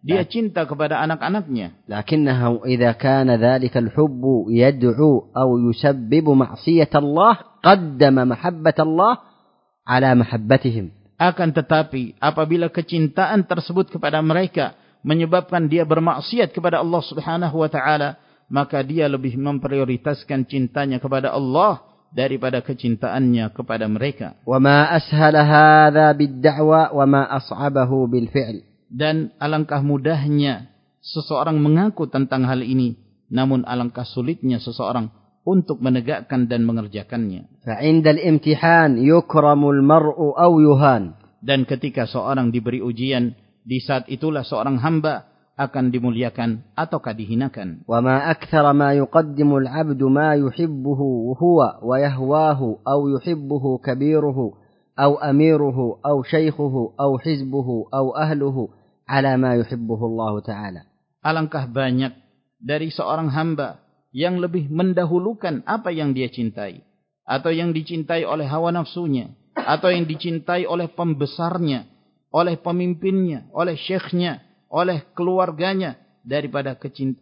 Dia cinta kepada anak-anaknya. لكنه إذا كان ذلك الحب يدعو أو يسبب معصية الله قدم محبة الله على محبتهم. Akan tetapi apabila kecintaan tersebut kepada mereka menyebabkan dia bermaksiat kepada Allah Subhanahu wa taala, maka dia lebih memprioritaskan cintanya kepada Allah daripada kecintaannya kepada mereka. وما أسهل هذا بالدعوة وما أصعبه بالفعل. Dan alangkah mudahnya seseorang mengaku tentang hal ini, namun alangkah sulitnya seseorang untuk menegakkan dan mengerjakannya. فعند الامتحان يكرم المرء أو يهان. Dan ketika seorang diberi ujian, di saat itulah seorang hamba akan dimuliakan ataukah dihinakan. وما أكثر ما يقدم العبد ما يحبه هو ويهواه أو يحبه كبيره أو أميره أو شيخه أو حزبه أو أهله على ما يحبه الله تعالى. Alangkah banyak dari seorang hamba yang lebih mendahulukan apa yang dia cintai, atau yang dicintai oleh hawa nafsunya, atau yang dicintai oleh pembesarnya, oleh pemimpinnya, oleh syekhnya, oleh keluarganya, daripada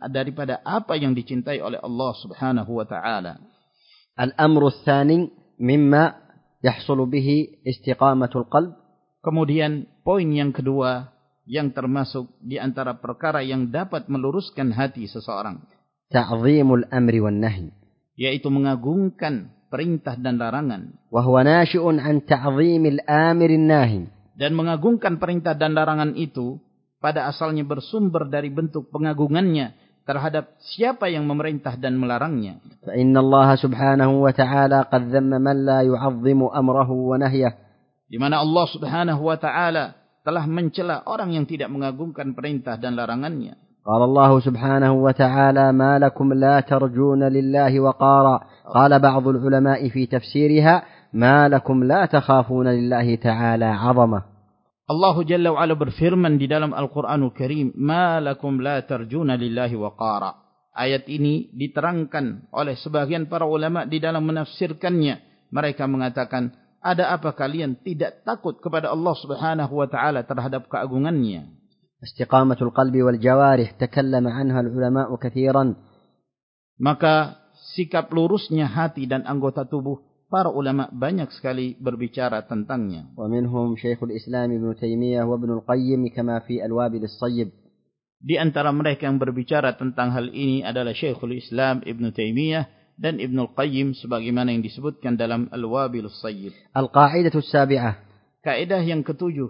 apa yang dicintai oleh Allah Subhanahu wa taala. الأمر الثاني مما يحصل به استقامة القلب. Kemudian poin yang kedua yang termasuk di antara perkara yang dapat meluruskan hati seseorang, تعظيم الأمر والنهي, yaitu mengagungkan perintah dan larangan. وهو ناشئ عن تعظيم الآمر الناهي. Dan mengagungkan perintah dan larangan itu pada asalnya bersumber dari bentuk pengagungannya terhadap siapa yang memerintah dan melarangnya. فإن الله سبحانه وتعالى قد ذم من لا يعظم أمره ونهيه. Di mana Allah Subhanahu wa taala telah mencela orang yang tidak mengagungkan perintah dan larangannya. قال الله سبحانه وتعالى ما لكم لا ترجون لله وقارا. قال بعض العلماء في تفسيرها ما لكم لا تخافون لله تعالى عظمة. Allah Jalla wa Ala berfirman di dalam Al-Quranul Karim, ma lakum la tarjuna lillahi waqara. Ayat ini diterangkan oleh sebagian para ulama di dalam menafsirkannya. Mereka mengatakan, ada apa kalian tidak takut kepada Allah Subhanahu wa taala terhadap keagungannya? استقامة القلب والجوارح تكلم عنها العلماء كثيرا. Maka sikap lurusnya hati dan anggota tubuh, para ulama banyak sekali berbicara tentangnya. ومنهم شيخ الإسلام ابن تيمية وابن القيم كما في الوابل الصيب. Di antara mereka yang berbicara tentang hal ini adalah Syekhul Islam Ibn Taimiyah dan Ibnul Qayyim sebagaimana yang disebutkan dalam Al-Wabilus Sayyib. القاعدة السابعة. Kaidah yang ketujuh.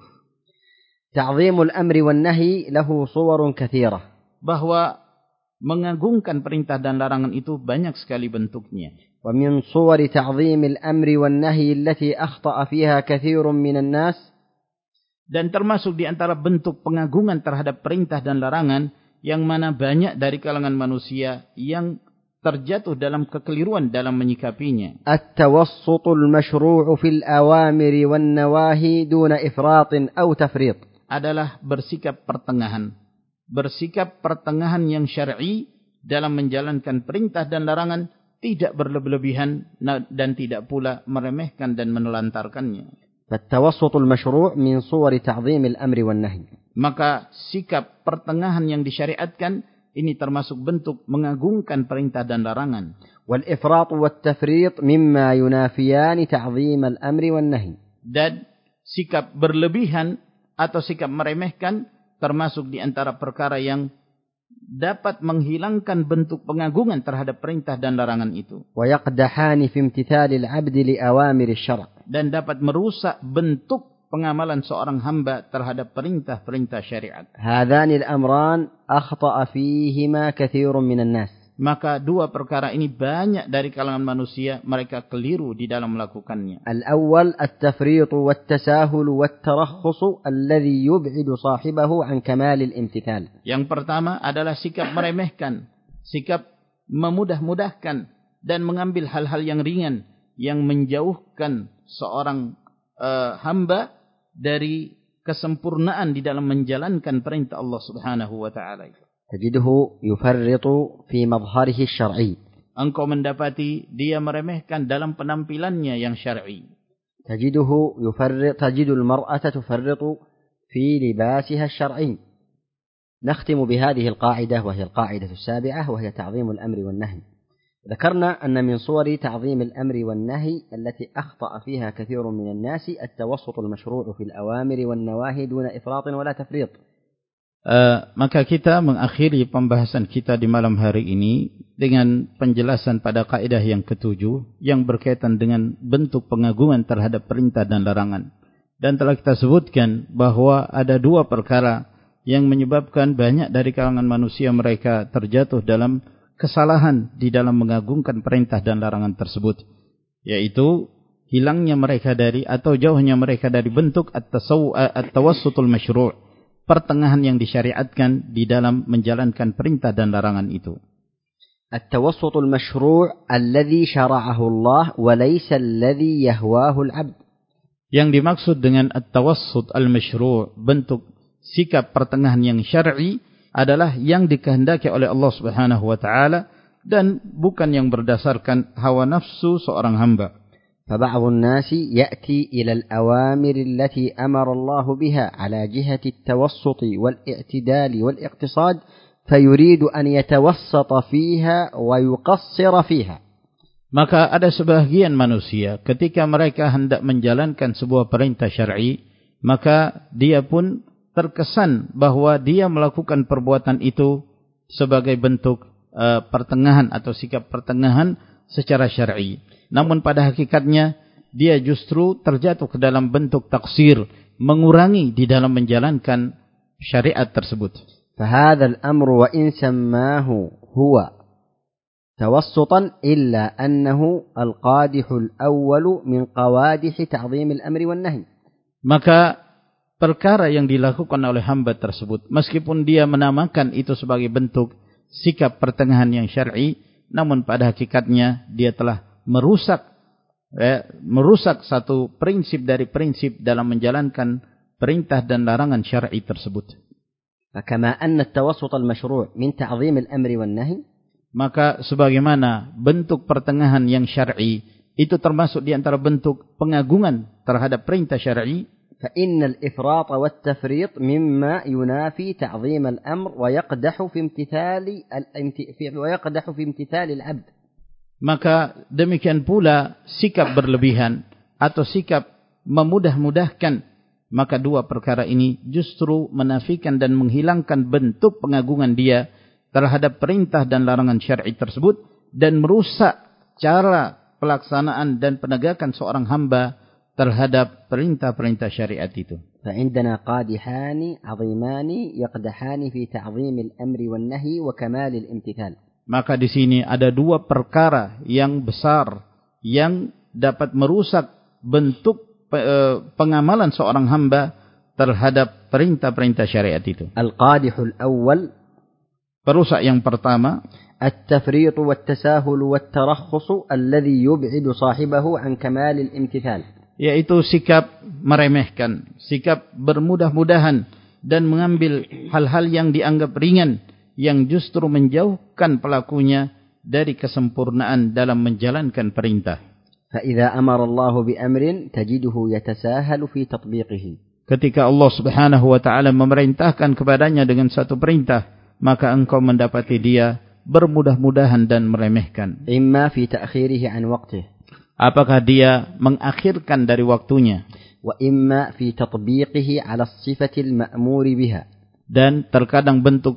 تعظيم الأمر والنهي له صور كثيرة. Bahwa mengagungkan perintah dan larangan itu banyak sekali bentuknya. ومن صور تعظيم الأمر والنهي التي أخطأ فيها كثير من الناس. Dan termasuk di antara bentuk pengagungan terhadap perintah dan larangan yang mana banyak dari kalangan manusia yang terjatuh dalam kekeliruan dalam menyikapinya. التوسط المشروع في الأوامر والنواهي دون إفراط أو تفريط. Adalah bersikap pertengahan. Bersikap pertengahan yang syar'i dalam menjalankan perintah dan larangan, tidak berlebihan dan tidak pula meremehkan dan menelantarkannya. فالتوسط المشروع من صور تعظيم الأمر والنهي. Maka sikap pertengahan yang disyariatkan ini termasuk bentuk mengagungkan perintah dan larangan. والإفراط والتفريط مما ينافيان تعظيم الأمر والنهي. Dan sikap berlebihan atau sikap meremehkan termasuk di antara perkara yang dapat menghilangkan bentuk pengagungan terhadap perintah dan larangan itu. ويقدحان في امتثال العبد لأوامر الشرع. Dan dapat merusak bentuk pengamalan seorang hamba terhadap perintah-perintah syariat. هذان الأمران أخطأ فيهما كثير من الناس. Maka dua perkara ini banyak dari kalangan manusia mereka keliru di dalam melakukannya. الأول التفريط والتساهل والترخص الذي يبعد صاحبه عن كمال الامتثال. Yang pertama adalah sikap meremehkan, sikap memudah-mudahkan dan mengambil hal-hal yang ringan yang menjauhkan seorang hamba dari kesempurnaan di dalam menjalankan perintah Allah Subhanahu wa taala. تجده يفرط في مظهره الشرعي. Engkau mendapati dia meremehkan dalam penampilannya yang syar'i. تجد المرأة تفرط في لباسها الشرعي. نختم بهذه القاعدة وهي القاعدة السابعة وهي تعظيم الأمر والنهي. ذكرنا أن من صور تعظيم الأمر والنهي التي أخطأ فيها كثير من الناس التوسط المشروع في الأوامر والنواهي دون إفراط ولا تفريط. Maka kita mengakhiri pembahasan kita di malam hari ini dengan penjelasan pada kaidah yang ketujuh yang berkaitan dengan bentuk pengagungan terhadap perintah dan larangan. Dan telah kita sebutkan bahwa ada dua perkara yang menyebabkan banyak dari kalangan manusia mereka terjatuh dalam kesalahan di dalam mengagungkan perintah dan larangan tersebut, yaitu hilangnya mereka dari atau jauhnya mereka dari bentuk at-tawassutul masyru', pertengahan yang disyariatkan di dalam menjalankan perintah dan larangan itu. At-tawassutul masyru' alladhi syara'ahu Allah wa laysa alladhi yahwahu al-'abd. Yang dimaksud dengan at-tawassut al-masyru', bentuk sikap pertengahan yang syar'i, adalah yang dikehendaki oleh Allah Subhanahu wa taala dan bukan yang berdasarkan hawa nafsu seorang hamba. فبعض الناس يأتي إلى الأوامر التي أمر الله بها على جهة التوسط والاعتدال والاقتصاد فيريد أن يتوسط فيها ويقصر فيها. Maka ada sebahagian manusia ketika mereka hendak menjalankan sebuah perintah syar'i, maka dia pun terkesan bahwa dia melakukan perbuatan itu sebagai bentuk pertengahan atau sikap pertengahan secara syar'i. Namun pada hakikatnya dia justru terjatuh ke dalam bentuk taksir, mengurangi di dalam menjalankan syariat tersebut. فهذا الأمر وإن سماه هو توسطا إلا أنه القادح الأول من قوادح تعظيم الأمر والنهي. Maka perkara yang dilakukan oleh hamba tersebut, meskipun dia menamakan itu sebagai bentuk sikap pertengahan yang syar'i, namun pada hakikatnya dia telah merusak satu prinsip dari prinsip dalam menjalankan perintah dan larangan syar'i tersebut. Kama anna at-tawassut al-mashru' min ta'zim al-amri wan-nahy, maka sebagaimana bentuk pertengahan yang syar'i itu termasuk di antara bentuk pengagungan terhadap perintah syar'i, فإن الإفراط والتفريط مما ينافي تعظيم الأمر ويقدح في امتثال العبد. Maka demikian pula sikap berlebihan atau sikap memudah-mudahkan, maka dua perkara ini justru menafikan dan menghilangkan bentuk pengagungan dia terhadap perintah dan larangan syar'i tersebut dan merusak cara pelaksanaan dan penegakan seorang hamba terhadap perintah-perintah syariat itu. فعندنا قادحان عظيمان يقدحان في تعظيم الأمر والنهي وكمال الامتثال. Maka di sini ada dua perkara yang besar yang dapat merusak bentuk pengamalan seorang hamba terhadap perintah-perintah syariat itu. Al-qadihul awwal, perusak yang pertama, at-tafriq wat-tasahul wat-tarakhus alladhi yub'idu sahibahu an kamal al-imtithal. Yaitu sikap meremehkan, sikap bermudah-mudahan dan mengambil hal-hal yang dianggap ringan yang justru menjauhkan pelakunya dari kesempurnaan dalam menjalankan perintah. فَإِذَا أَمَرَ اللَّهُ بِأَمْرٍ تَجِدُهُ يَتَسَاهَلُ فِي تَطْبِيقِهِ. Ketika Allah Subhanahu wa taala memerintahkan kepadanya dengan satu perintah, maka engkau mendapati dia bermudah-mudahan dan meremehkan. إِمَّا فِي تَأْخِيرِهِ عَنْ وَقْتِهِ. Apakah dia mengakhirkan dari waktunya? وَإِمَّا فِي تَطْبِيقِهِ عَلَى الصِّفَةِ الْمَأْمُورِ بِهَا. Dan terkadang bentuk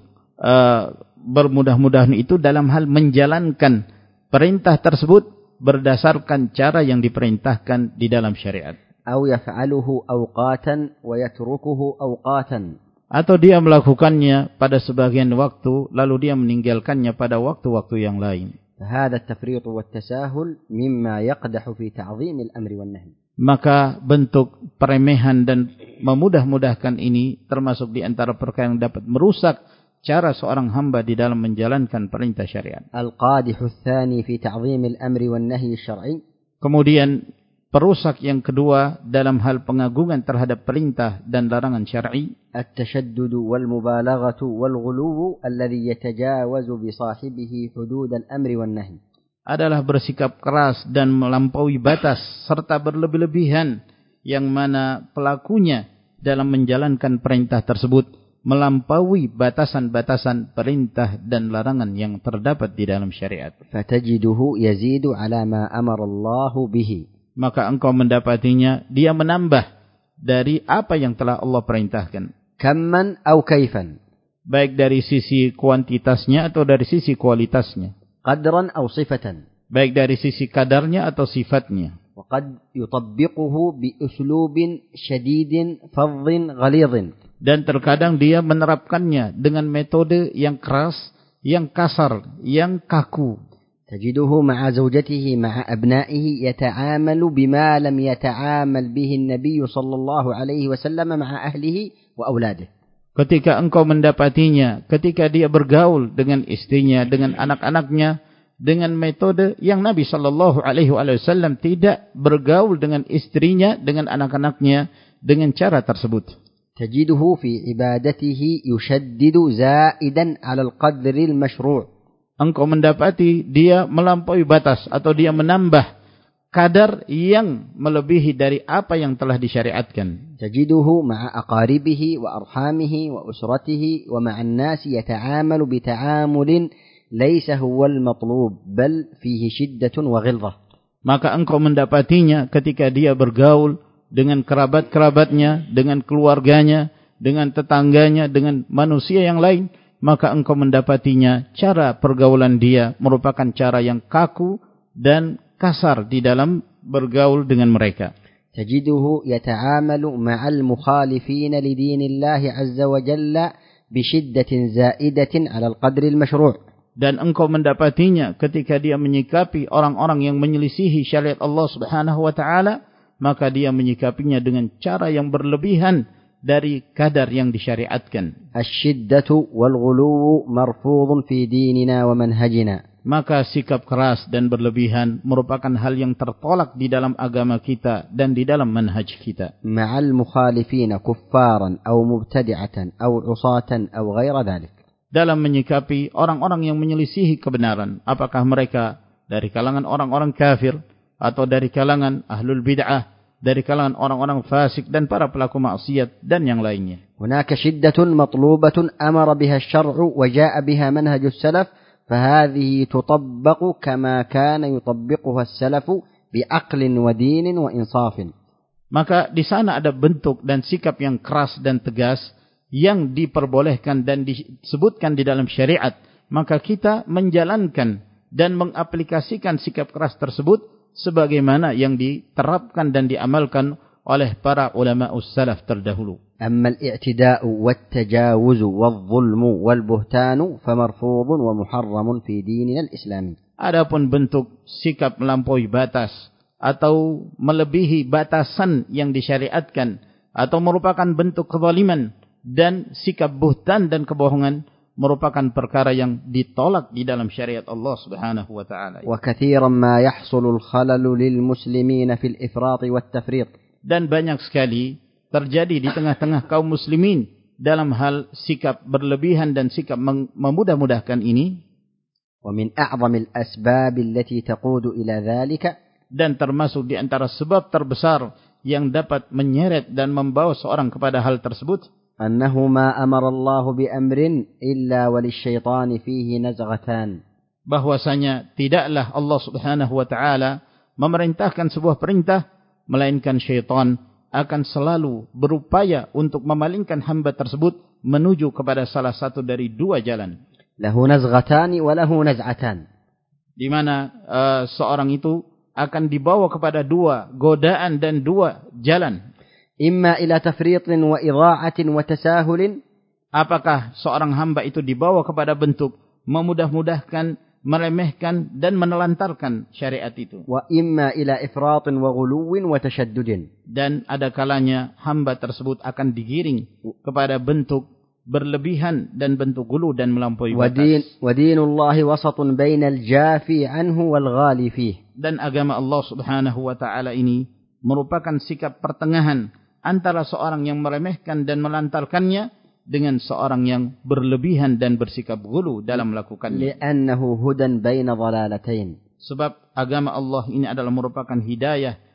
bermudah-mudahan itu dalam hal menjalankan perintah tersebut berdasarkan cara yang diperintahkan di dalam syariat. أو يفعله أوقاتا ويتركه أوقاتا. Atau dia melakukannya pada sebagian waktu lalu dia meninggalkannya pada waktu-waktu yang lain. هذا التفريط والتساهل مما يقدح في تعظيم الأمر والنهي. Maka bentuk peremehan dan memudah-mudahkan ini termasuk di antara perkara yang dapat merusak cara seorang hamba di dalam menjalankan perintah syariat. القادح الثاني في تعظيم الأمر والنهي الشرعي. Kemudian perusak yang kedua dalam hal pengagungan terhadap perintah dan larangan syar'i, التشدد والمبالغة والغلو الذي يتجاوز بصاحبه حدود الأمر والنهي. adalah bersikap keras dan melampaui batas serta berlebih-lebihan yang mana pelakunya dalam menjalankan perintah tersebut melampaui batasan-batasan perintah dan larangan yang terdapat di dalam syariat. Fatajiduhu yazidu ala ma amara Allah bihi. Maka engkau mendapatinya dia menambah dari apa yang telah Allah perintahkan. Kamman aw kaifan. Baik dari sisi kuantitasnya atau dari sisi kualitasnya. Qadran aw sifatan. Baik dari sisi kadarnya atau sifatnya. وقد يطبقه بأسلوب شديد فظ غليظ. Dan terkadang dia menerapkannya dengan metode yang keras, yang kasar, yang kaku. تجده مع زوجته مع أبنائه يتعامل بما لم يتعامل به النبي صلى الله عليه وسلم مع أهله وأولاده. Ketika engkau mendapatinya, ketika dia bergaul dengan istrinya, dengan anak-anaknya, dengan metode yang Nabi sallallahu alaihi wasallam tidak bergaul dengan istrinya, dengan anak-anaknya dengan cara tersebut. Tajiduhu fi ibadatihi yushaddidu zaidan 'ala al-qadr al-mashru'. Engkau mendapati dia melampaui batas atau dia menambah kadar yang melebihi dari apa yang telah disyariatkan. Tajiduhu ma'a aqaribihi wa arhamihi wa usratihi wa ma'an nasi yata'amalu bita'amulin laisa huwal matlub bal fihi shiddatun wa ghilzah. Maka engkau mendapatinya ketika dia bergaul dengan kerabat-kerabatnya, dengan keluarganya, dengan tetangganya, dengan manusia yang lain, maka engkau mendapatinya cara pergaulan dia merupakan cara yang kaku dan kasar di dalam bergaul dengan mereka. Tajiduhu yata'amalu ma'al mukhalifin li dinillahi azza wa jalla bi shiddatin zaidatin 'ala al-qadri al-mashru'. Dan engkau mendapatinya ketika dia menyikapi orang-orang yang menyelisihi syariat Allah Subhanahu wa taala, maka dia menyikapinya dengan cara yang berlebihan dari kadar yang disyariatkan. Asy-syiddatu wal-ghuluw marfudun fi dinina wa manhajina. Maka sikap keras dan berlebihan merupakan hal yang tertolak di dalam agama kita dan di dalam manhaj kita. Ma'al mukhalifin kuffaran aw mubtadi'atan aw 'usatan aw ghaira dhalik. Dalam menyikapi orang-orang yang menyelisihi kebenaran, apakah mereka dari kalangan orang-orang kafir atau dari kalangan ahlul bid'ah, dari kalangan orang-orang fasik dan para pelaku maksiat dan yang lainnya. Hunaka shiddatun matlubatun amara biha asy-syar'u wa jaa'a biha manhajus salaf, fahadhihi tutabbaqu kama kana yutabbiquha as-salafu bi'aqlin wa dinin wa insafin. Maka di sana ada bentuk dan sikap yang keras dan tegas yang diperbolehkan dan disebutkan di dalam syariat, maka kita menjalankan dan mengaplikasikan sikap keras tersebut sebagaimana yang diterapkan dan diamalkan oleh para ulama salaf terdahulu. Amma al-i'tida'u wat-tajawuzu wadh-dhulmu wal-buhtanu famarfudun wa muharramun fi dinina al-islami. Adapun bentuk sikap melampaui batas atau melebihi batasan yang disyariatkan atau merupakan bentuk kezaliman dan sikap buhtan dan kebohongan merupakan perkara yang ditolak di dalam syariat Allah Subhanahu wa taala. Wa katsiran ma yahsulu al-khalalu lil muslimin fil ifrat wat tafrit. Dan banyak sekali terjadi di tengah-tengah kaum muslimin dalam hal sikap berlebihan dan sikap memudah-mudahkan ini. Wa min a'zamil asbab allati taqudu ila dhalika, dan termasuk di antara sebab terbesar yang dapat menyeret dan membawa seorang kepada hal tersebut, أنه ما أمر الله بأمر إلا وللشيطان فيه نزغتان. Bahwasanya tidaklah Allah Subhanahu wa taala memerintahkan sebuah perintah melainkan syaitan akan selalu berupaya untuk memalingkan hamba tersebut menuju kepada salah satu dari dua jalan. Lahu nazghatan wa lahu naz'atan. Di mana seorang itu akan dibawa kepada dua godaan dan dua jalan. Imma ila tafritin wa idha'atin wa tasahulin. Apakah seorang hamba itu dibawa kepada bentuk memudah-mudahkan, meremehkan dan menelantarkan syariat itu. Wa imma ila ifratin wa ghuluwin wa tashaddudin. Dan ada kalanya hamba tersebut akan digiring kepada bentuk berlebihan dan bentuk gulu dan melampaui batas. Wa dinullahi wasatun bainal jafi anhu wal ghali fih. Dan agama Allah Subhanahu wa taala ini merupakan sikap pertengahan antara seorang yang meremehkan dan melantarkannya dengan seorang yang berlebihan dan bersikap ghulu dalam melakukannya. Li'annahu hudan baina dhalalatain. Sebab agama Allah ini adalah merupakan hidayah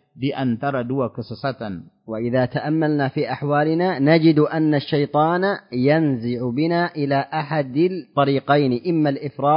di antara dua kesesatan. وإذا تأملنا في أحوالنا نجد أن الشيطان ينزع بنا إلى أحد الطريقين إما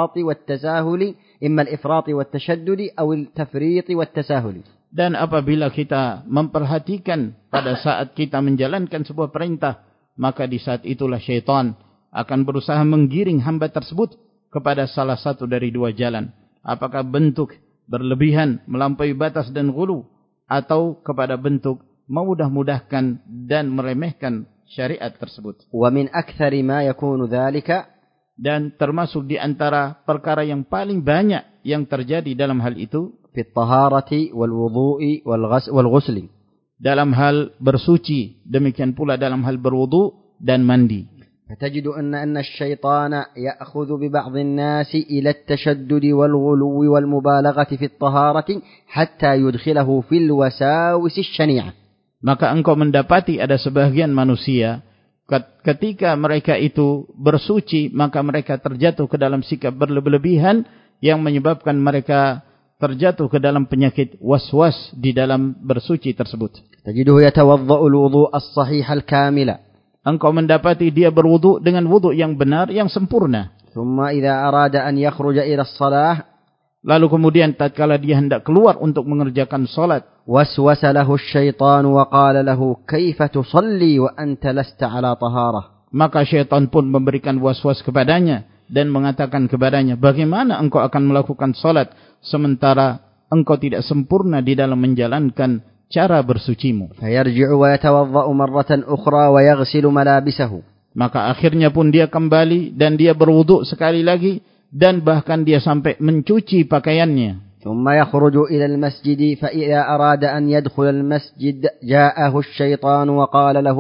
الإفراط والتشدد أو التفريط والتساهل. Dan apabila kita memperhatikan pada saat kita menjalankan sebuah perintah, maka di saat itulah syaitan akan berusaha menggiring hamba tersebut kepada salah satu dari dua jalan. Apakah bentuk berlebihan, melampaui batas dan ghulu, atau kepada bentuk memudah-mudahkan dan meremehkan syariat tersebut. ومن أكثر ما يكون ذلك, dan termasuk di antara perkara yang paling banyak yang terjadi dalam hal itu, في الطهارة والوضوء والغسل, dalam hal bersuci, demikian pula dalam hal berwudu dan mandi. فتجد أن الشيطان يأخذ ببعض الناس إلى التشدد والغلو والمبالغة في الطهارة حتى يدخله في الوساوس الشنيعة. Maka engkau mendapati ada sebagian manusia ketika mereka itu bersuci, maka mereka terjatuh ke dalam sikap berlebihan yang menyebabkan mereka terjatuh ke dalam penyakit waswas di dalam bersuci tersebut. تجده يتوضأ الوضوء الصحيح الكامل. Engkau mendapati dia berwudu dengan wudu yang benar, yang sempurna. ثم إذا أراد أن يخرج إلى الصلاة, lalu kemudian tatkala dia hendak keluar untuk mengerjakan salat, وسوس له الشيطان وقال له كيف تصلي وأنت لست على طهارة. Maka syaitan pun memberikan waswas kepadanya dan mengatakan kepadanya, bagaimana engkau akan melakukan salat sementara engkau tidak sempurna di dalam menjalankan cara bersucimu. فيرجع ويتوضأ مرة أخرى ويغسل ملابسه. Maka akhirnya pun dia kembali dan dia berwudu sekali lagi dan bahkan dia sampai mencuci pakaiannya. ثم يخرج إلى المسجد فإذا أراد أن يدخل المسجد جاءه الشيطان وقال له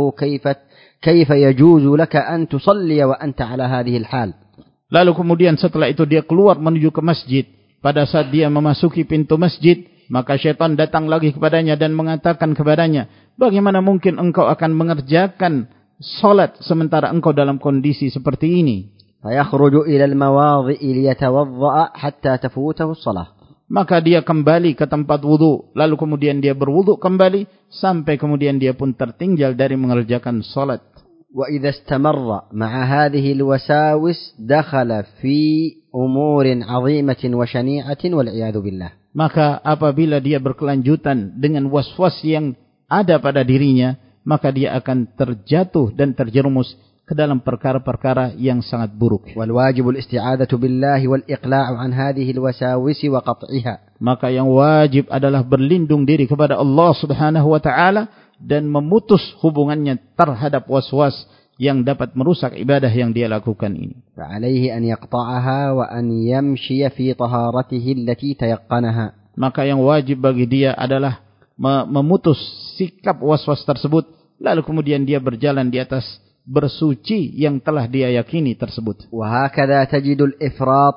كيف يجوز لك أن تصلي وأنت على هذه الحال. Lalu kemudian setelah itu dia keluar menuju ke masjid. Pada saat dia memasuki pintu masjid, maka syaitan datang lagi kepadanya dan mengatakan kepadanya, bagaimana mungkin engkau akan mengerjakan salat sementara engkau dalam kondisi seperti ini? فيخرج إلى المواضع ليتوضأ حتى تفوته الصلاة. Maka dia kembali ke tempat wudu, lalu kemudian dia berwudu kembali sampai kemudian dia pun tertinggal dari mengerjakan salat. وإذا استمر مع هذه الوساوس دخل في أمور عظيمة وشنيعة والعياذ بالله. Maka apabila dia berkelanjutan dengan waswas yang ada pada dirinya, maka dia akan terjatuh dan terjerumus ke dalam perkara-perkara yang sangat buruk. والواجب الاستعاذة بالله والإقلاع عن هذه الوساوس وقطعها. Maka yang wajib adalah berlindung diri kepada Allah Subhanahu wa taala dan memutus hubungannya terhadap waswas yang dapat merusak ibadah yang dia lakukan ini. فعليه أن يقطعها وأن يمشي في طهارته التي تيقنها. Maka yang wajib bagi dia adalah memutus sikap waswas tersebut, lalu kemudian dia berjalan di atas bersuci yang telah dia yakini tersebut. وهكذا تجد الإفراط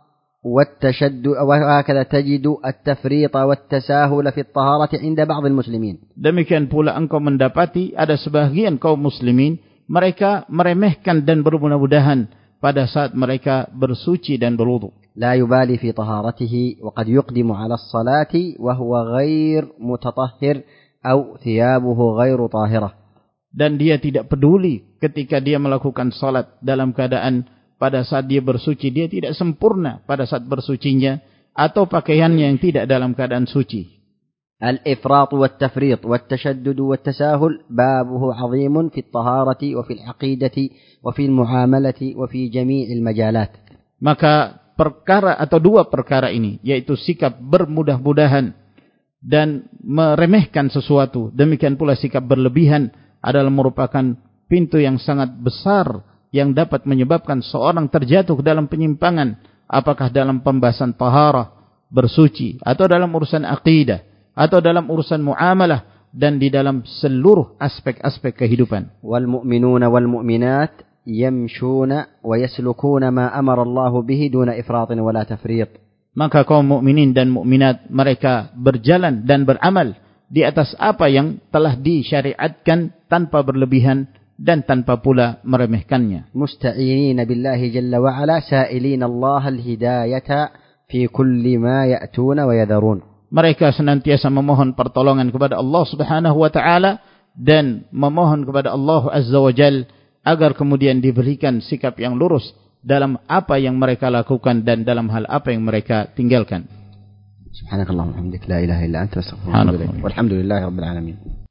والتشدد وهكذا تجد التفريط والتساهل في الطهارة عند بعض المسلمين. Demikian pula engkau mendapati ada sebagian kaum muslimin mereka meremehkan dan bermudah-mudahan pada saat mereka bersuci dan berwudu. لا يبالي في طهارته وقد يقدم على الصلاة وهو غير متطهر أو ثيابه غير طاهرة. Dan dia tidak peduli ketika dia melakukan salat dalam keadaan pada saat dia bersuci dia tidak sempurna pada saat bersucinya atau pakaiannya yang tidak dalam keadaan suci. الإفراط والتفريط والتشدد والتساهل بابه عظيم في الطهارة وفي العقيدة وفي المعاملة وفي جميع المجالات. Maka perkara atau dua perkara ini yaitu sikap bermudah-mudahan dan meremehkan sesuatu, demikian pula sikap berlebihan adalah merupakan pintu yang sangat besar yang dapat menyebabkan seorang terjatuh ke dalam penyimpangan, apakah dalam pembahasan taharah, bersuci, atau dalam urusan akidah, atau dalam urusan muamalah, dan di dalam seluruh aspek-aspek kehidupan. Wal mu'minuna wal mu'minat yamshuna wa yaslukuna ma amara Allah bihi duna ifratin wala tafriq. Maka kaum mukminin dan mukminat mereka berjalan dan beramal di atas apa yang telah disyariatkan tanpa berlebihan dan tanpa pula meremehkannya. Musta'inin billahi jalla wa ala sa'ilin Allah al-hidayata fi kulli ma ya'tuna wa yadharun. mereka senantiasa memohon pertolongan kepada Allah Subhanahu wa taala dan memohon kepada Allah Azza wa Jalla agar kemudian diberikan sikap yang lurus dalam apa yang mereka lakukan dan dalam hal apa yang mereka tinggalkan. Subhanakallahumma wa bihamdika la ilaha illa anta astaghfiruka wa atubu ilaik. Walhamdulillahirabbil alamin.